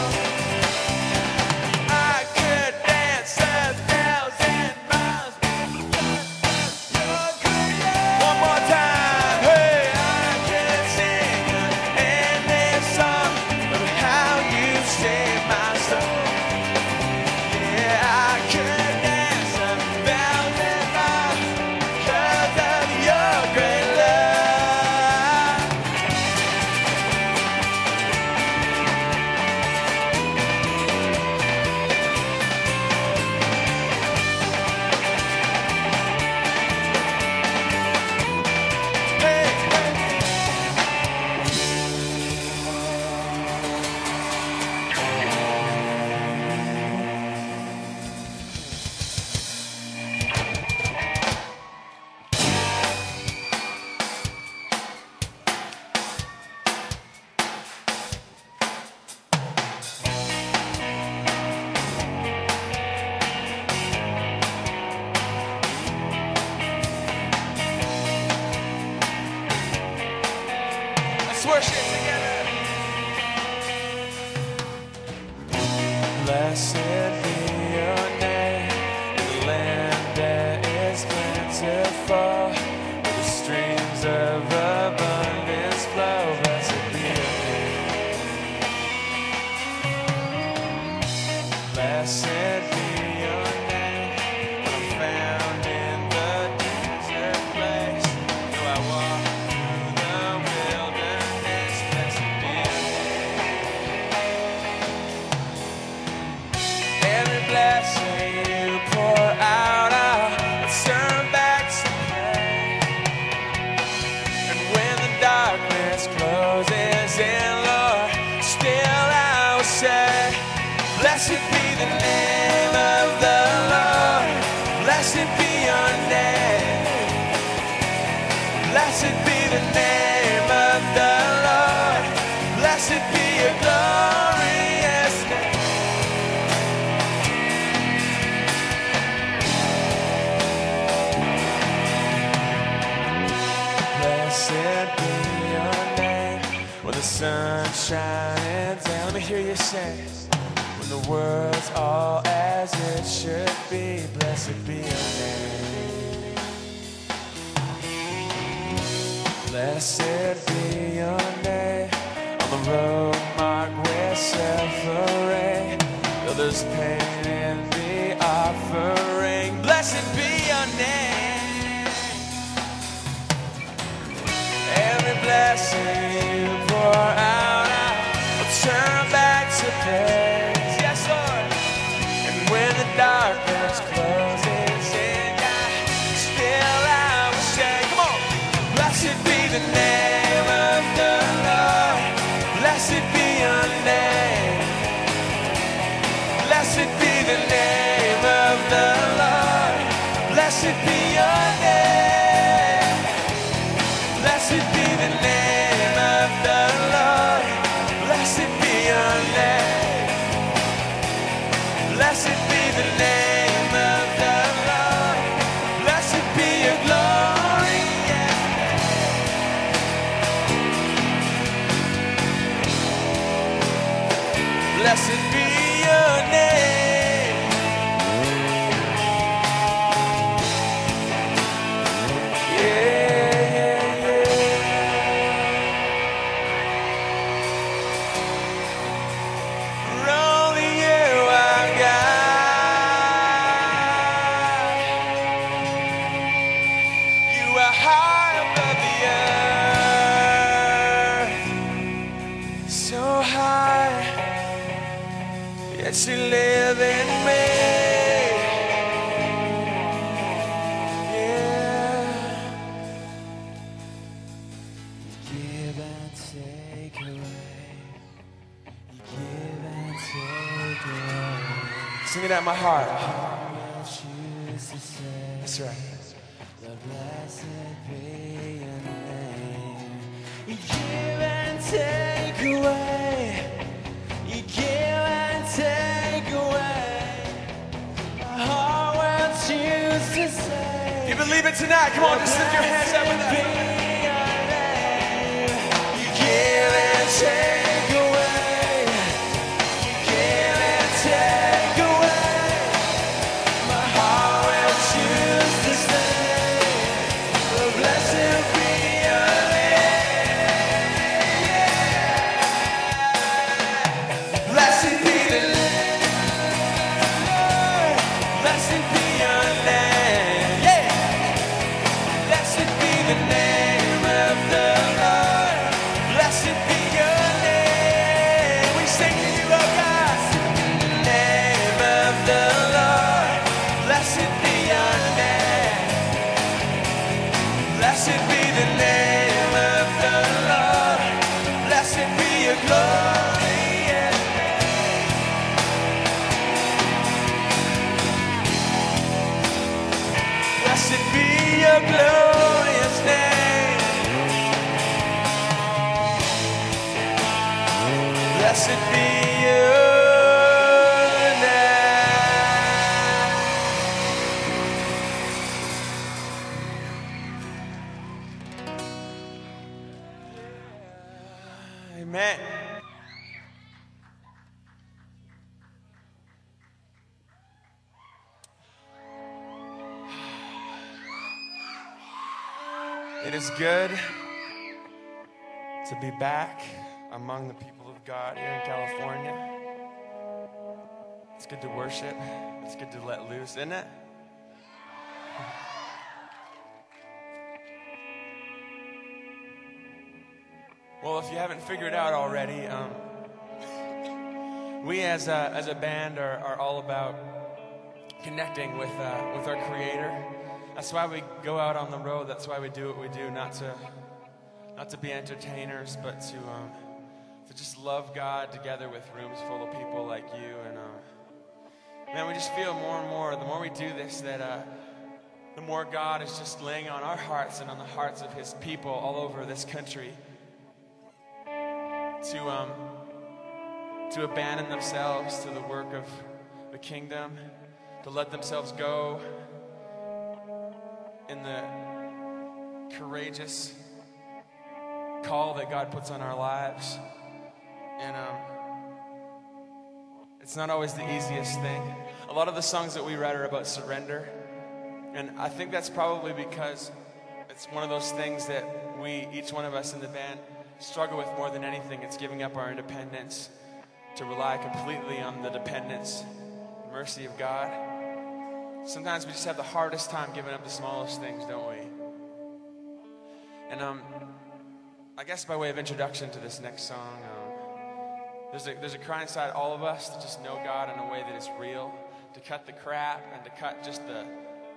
I could dance a thousand miles because of your great love. One more time. Hey, I could sing an endless song of how you saved my soul. Yeah, I could dance a thousand miles because of your great love. Hey, let's worship together. Blessed be your name in the land that is plentiful, where the streams of abundance flow. Blessed be your name. Blessed be your name when I'm found in the desert place. Though I walk through the wilderness, blessed be your name. Every blessing you pour out, I'll turn back to pray. And when the darkness closes in, Lord, still I will say, blessed be the name of the Lord. Blessed be your name. Blessed be the name of the Lord. Blessed be your glorious name. Blessed be your name when the sun's shining down. Let me hear you say, when the world's all as it should be. Blessed be your name. Blessed be your name on the road marked with suffering. Though there's pain in the offering, blessed be your name. Every blessing you pour out, I'll turn back to praise. Yes, Lord. And when the darkness closes in, God, still I will say, come on. Blessed be the name of the Lord. Blessed be your name. Blessed be the name of the Lord. Blessed be your name. Blessed be the name of the Lord. Blessed be your name. Blessed be your name. Yeah, yeah, yeah. For only you are God. You are high above the earth, so high, yet you live in me. Yeah. You give and take away. You give and take away. Sing it out my heart. That's right. The blessed be your name. You give and take away. You give and take away. My heart will choose to say. You believe it tonight? Come on, just lift your hands up with that. You give and take away. You give and take away. My heart will choose to say, oh, blessed be your name. Yeah. Blessed be the Lord. Blessed be your name. Yeah. Blessed be the name of the Lord. Blessed be your name. We sing to you, oh God. The name of the Lord. Blessed be your name. Blessed be the name of the Lord. Blessed be your glorious name. Blessed be your glorious name. Blessed be your name. Amen. It is good to be back among the people of God here in California. It's good to worship. It's good to let loose, isn't it? Well, if you haven't figured out already, um, we as a, as a band are, are all about connecting with, uh, with our Creator. That's why we go out on the road. That's why we do what we do, not to, not to be entertainers, but to, um, to just love God together with rooms full of people like you. And uh, man, we just feel more and more, the more we do this, that uh, the more God is just laying on our hearts and on the hearts of His people all over this country to um, to abandon themselves to the work of the kingdom, to let themselves go in the courageous call that God puts on our lives. And um, it's not always the easiest thing. A lot of the songs that we write are about surrender. And I think that's probably because it's one of those things that we, each one of us in the band, struggle with more than anything. It's giving up our independence to rely completely on the dependence, mercy of God. Sometimes we just have the hardest time giving up the smallest things, don't we? And um, I guess by way of introduction to this next song, um, there's a there's a cry inside all of us to just know God in a way that is real, to cut the crap and to cut just the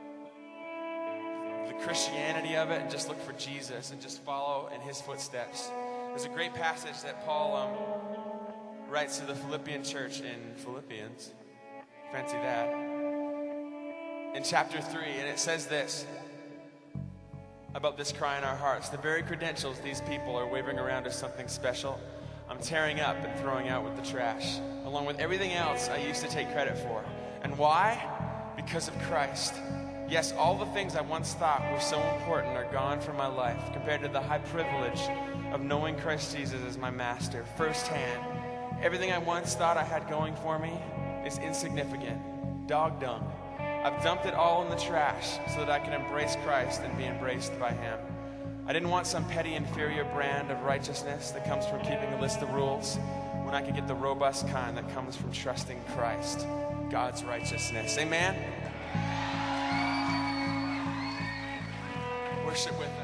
the Christianity of it and just look for Jesus and just follow in His footsteps. There's a great passage that Paul um, writes to the Philippian church in Philippians. Fancy that. In chapter three, and it says this about this cry in our hearts. The very credentials these people are waving around as something special, I'm tearing up and throwing out with the trash, along with everything else I used to take credit for. And why? Because of Christ. Yes, all the things I once thought were so important are gone from my life compared to the high privilege of knowing Christ Jesus as my master firsthand Everything I once thought I had going for me is insignificant, dog dung. I've dumped it all in the trash so that I can embrace Christ and be embraced by Him. I didn't want some petty inferior brand of righteousness that comes from keeping a list of rules when I could get the robust kind that comes from trusting Christ, God's righteousness. Amen? Worship with us.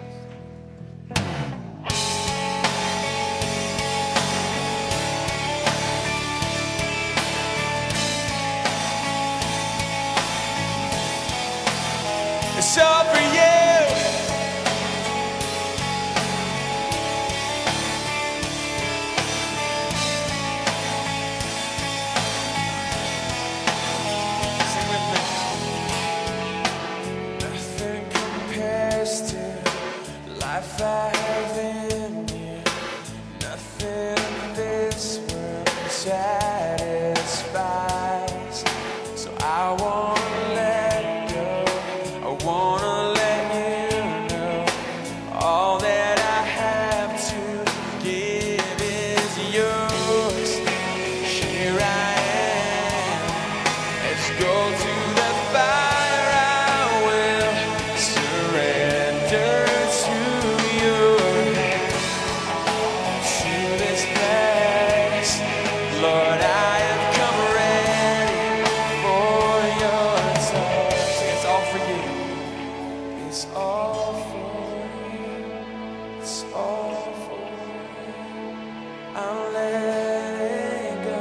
It's all for you. Sing with me. Nothing compares to life I have in you. Nothing in this world satisfies. So I want to let go. I wanna let you know all that I have to give is yours. Here I am. Let's go to the fire. I will surrender to your hand, to this place. Lord, I have come ready for your touch. It's all for you. It's all for you. It's all for you. I'm letting go.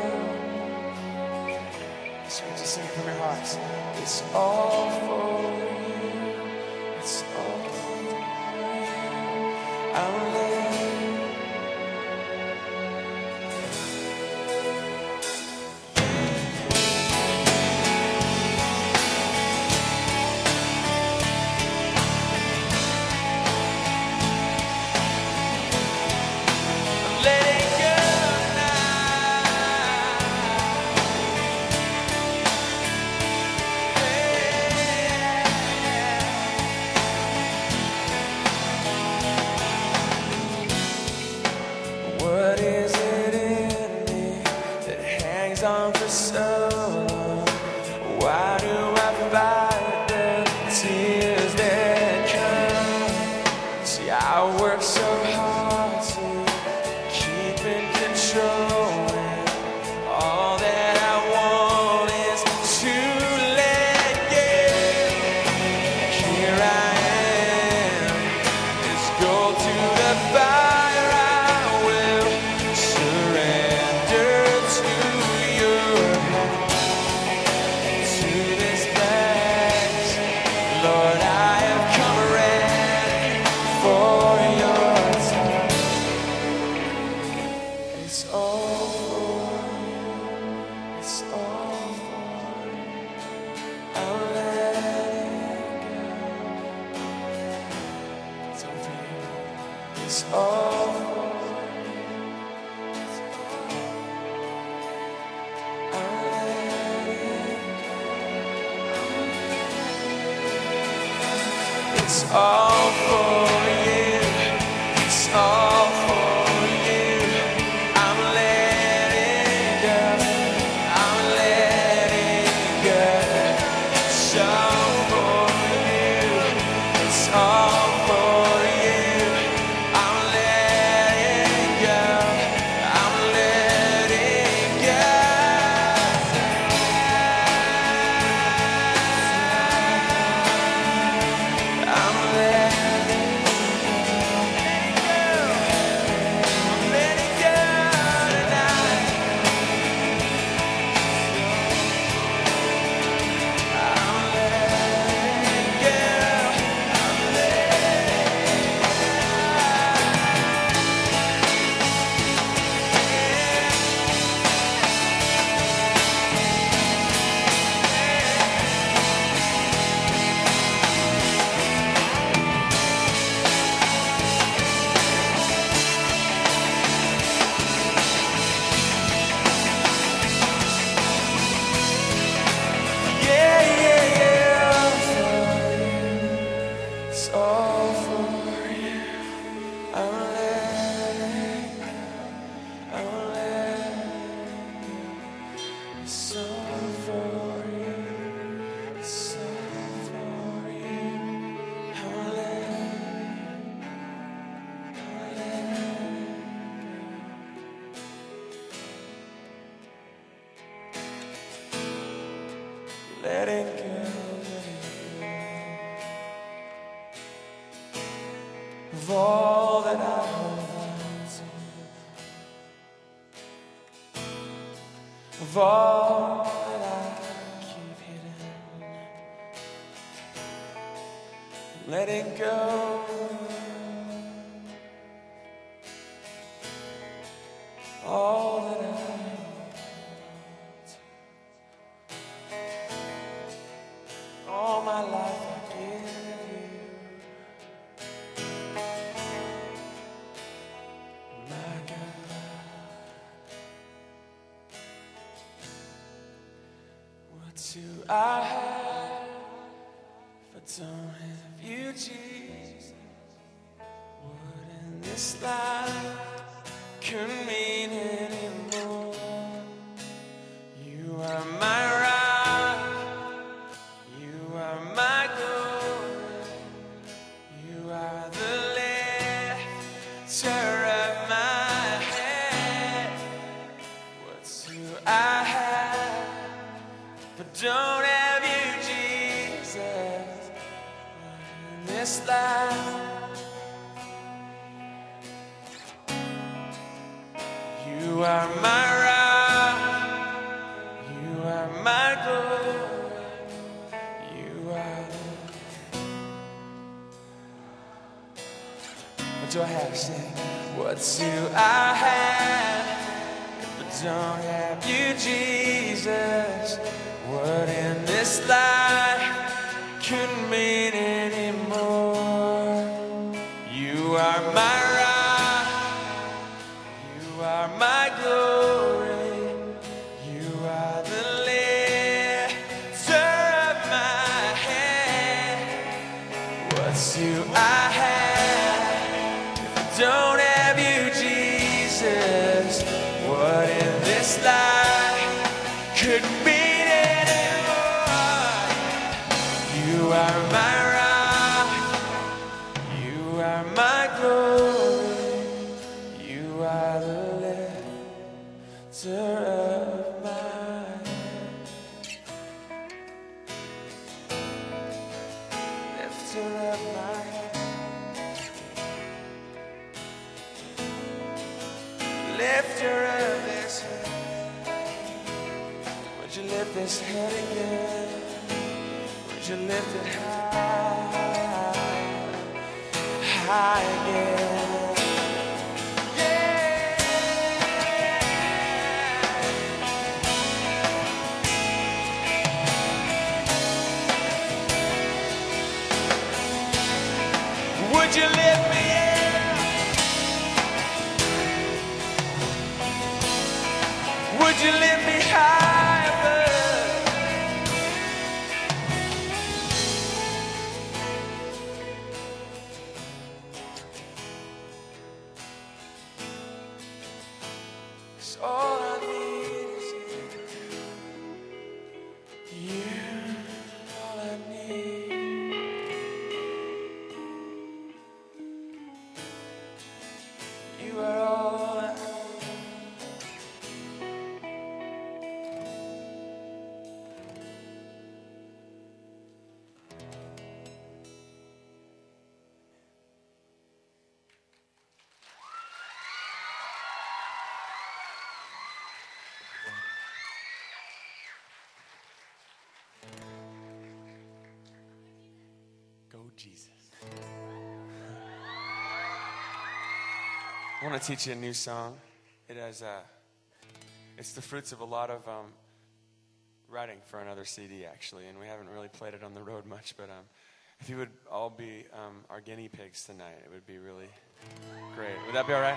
So you just sing from your hearts. It's all for you. It's all for you. I'm letting What is it in me that hangs on for so long? Why do I fight the tears that come? See, I work so hard to keep in control, and all that I want is to let go. Here I am. Let's go to the fire. It's all for you. It's all for you. I'll let it go. It's all for you. It's all for you. I'll let it go. It's all for you. It's all for you. I'm letting letting go, of all that I hold on to, of all that I keep hidden, letting go. All that I want, all my life I give you, my God. What do I have if I don't have you, Jesus? What in this life couldn't mean anymore? You are my rock, you are my glory, you are the lifter of my head. What do I have if I don't have you, Jesus? What in this life? You are my rock, you are my glory, you are the... What do I have? Say, what do I have if I don't have you, Jesus? What in this life couldn't mean anymore? You are my rock, you are my glory, you are the lifter of my head. What do I have if I don't have you, Jesus? What in this life could mean anymore? You are my rock, you are my glory, you are the lifter of my head, lifter of my head, lifter of this head. Would you lift this head again? Would you lift it high, high again? Would you lift me in? Would you lift me high above? Cause all I need is you. You, all I need. You are all I Go Jesus. I want to teach you a new song. It has, uh, it's the fruits of a lot of um, writing for another C D, actually, and we haven't really played it on the road much, but um, if you would all be um, our guinea pigs tonight, it would be really great. Would that be all right?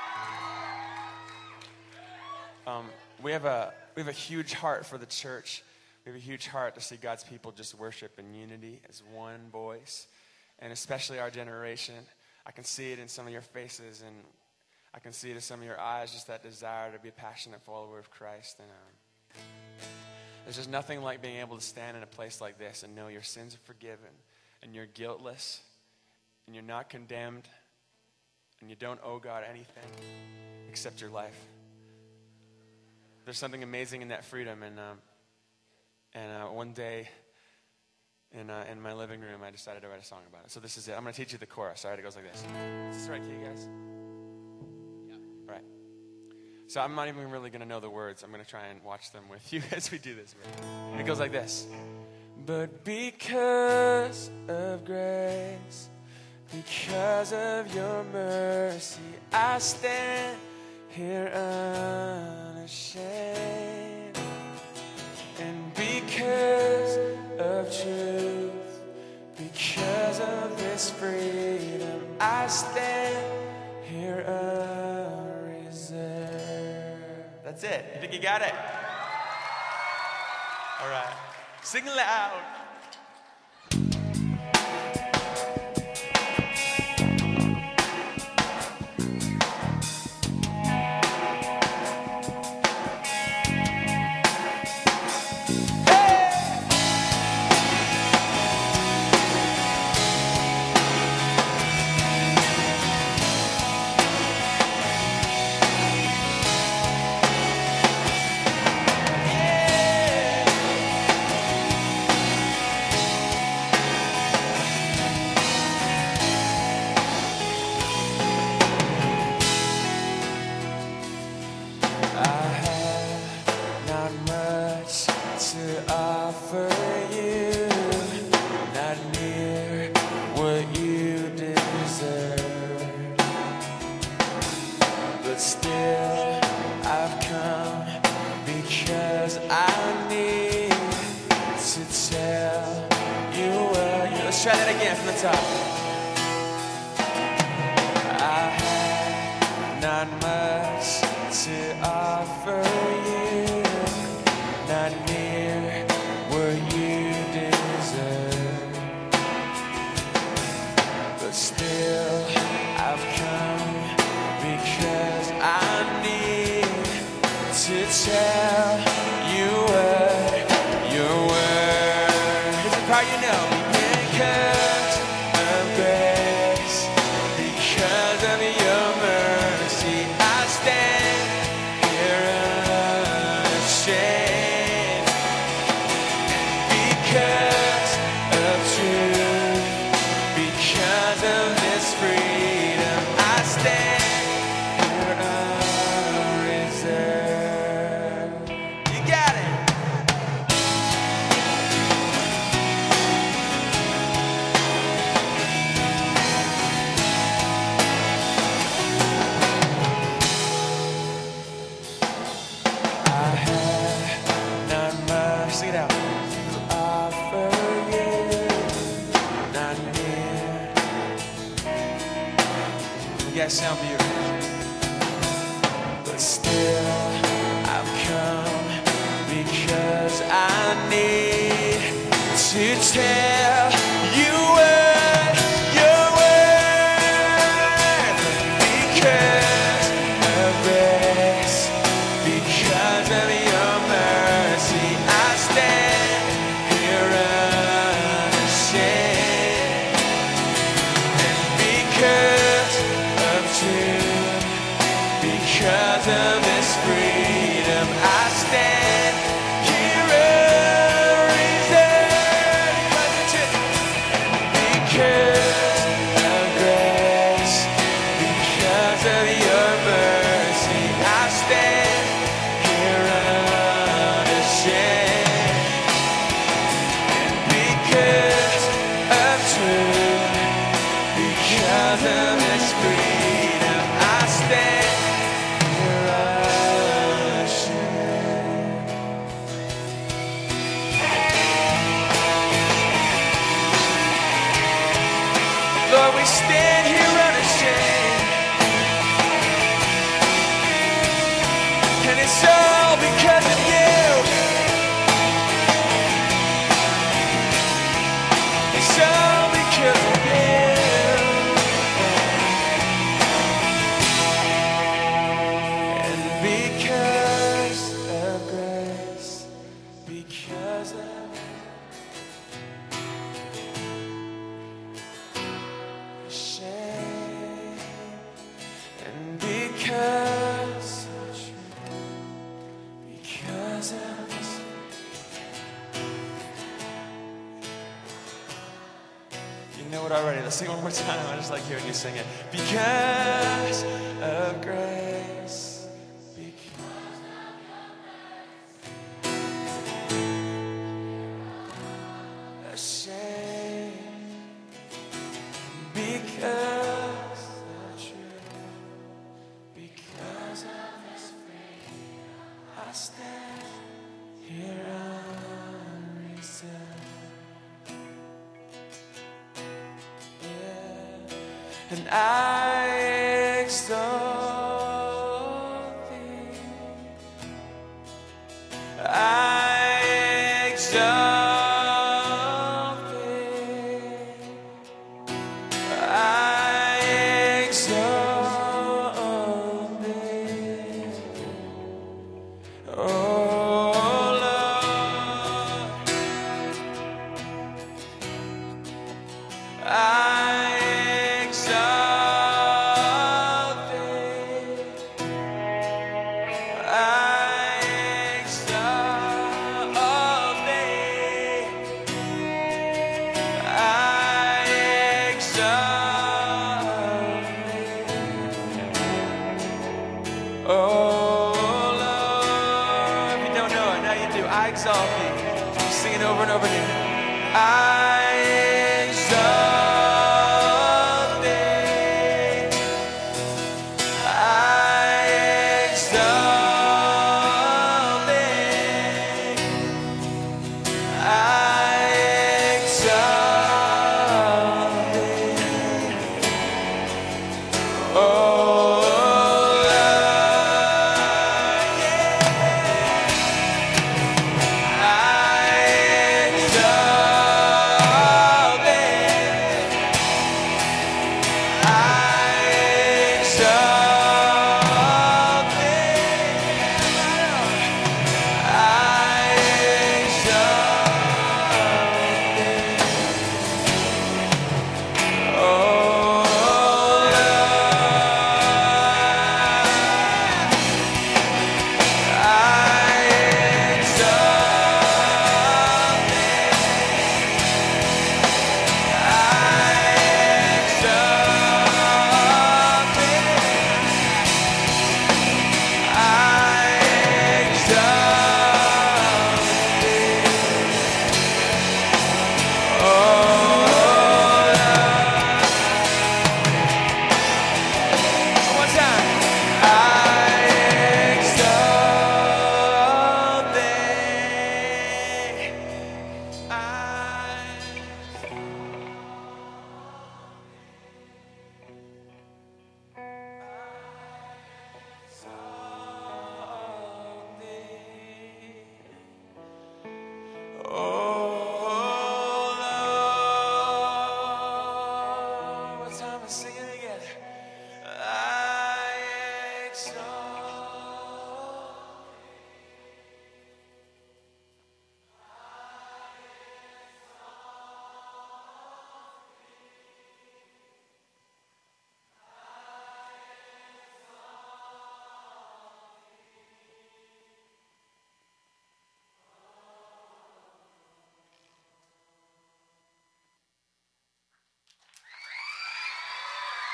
Um, we have a we have a huge heart for the church. We have a huge heart to see God's people just worship in unity as one voice, and especially our generation. I can see it in some of your faces, and I can see it in some of your eyes, just that desire to be a passionate follower of Christ. And um, there's just nothing like being able to stand in a place like this and know your sins are forgiven, and you're guiltless, and you're not condemned, and you don't owe God anything except your life. There's something amazing in that freedom, and um, And uh, one day in, uh, in my living room, I decided to write a song about it. So this is it. I'm going to teach you the chorus. All right, it goes like this. Is this right, key, guys? Yeah. All right. So I'm not even really going to know the words. I'm going to try and watch them with you as we do this. And it goes like this. But because of grace, because of your mercy, I stand here unashamed. And because of truth, because of this freedom, I stand here unreserved. That's it. You think you got it? All right. Sing loud. Try that again from the top. I have not much to offer you, not near what you deserve, but still I've come because I need to tell you what your word. Here's the part you know. Because of grace, because of your mercy, I stand here unashamed. Because of truth, because of this freedom, I stand here unreserved. You got it. Sing it out. To offer you, not near. You guys sound beautiful. But still, I've come because I need to tell you what your word. Because of grace, because of your mercy, I stand here unashamed. And because of truth, because of this freedom, I stand here unreserved. Because of grace, because of your mercy, I stand here unashamed. Because of truth, because of this freedom, I stand here unashamed. Lord, we stand here unashamed, and it's all because of you. It's all because of you. And because of grace, because of shame, and because of truth, because of this, You know it already. Let's sing it one more time. I just like hearing you sing it. Because of grace. Because of ashamed. Because of truth. Because of His freedom. I stand here unreserved. And I exalt Thee. I exalt Thee. I exalt Thee. Oh Lord, I I exalt Thee. Sing it over and over again. I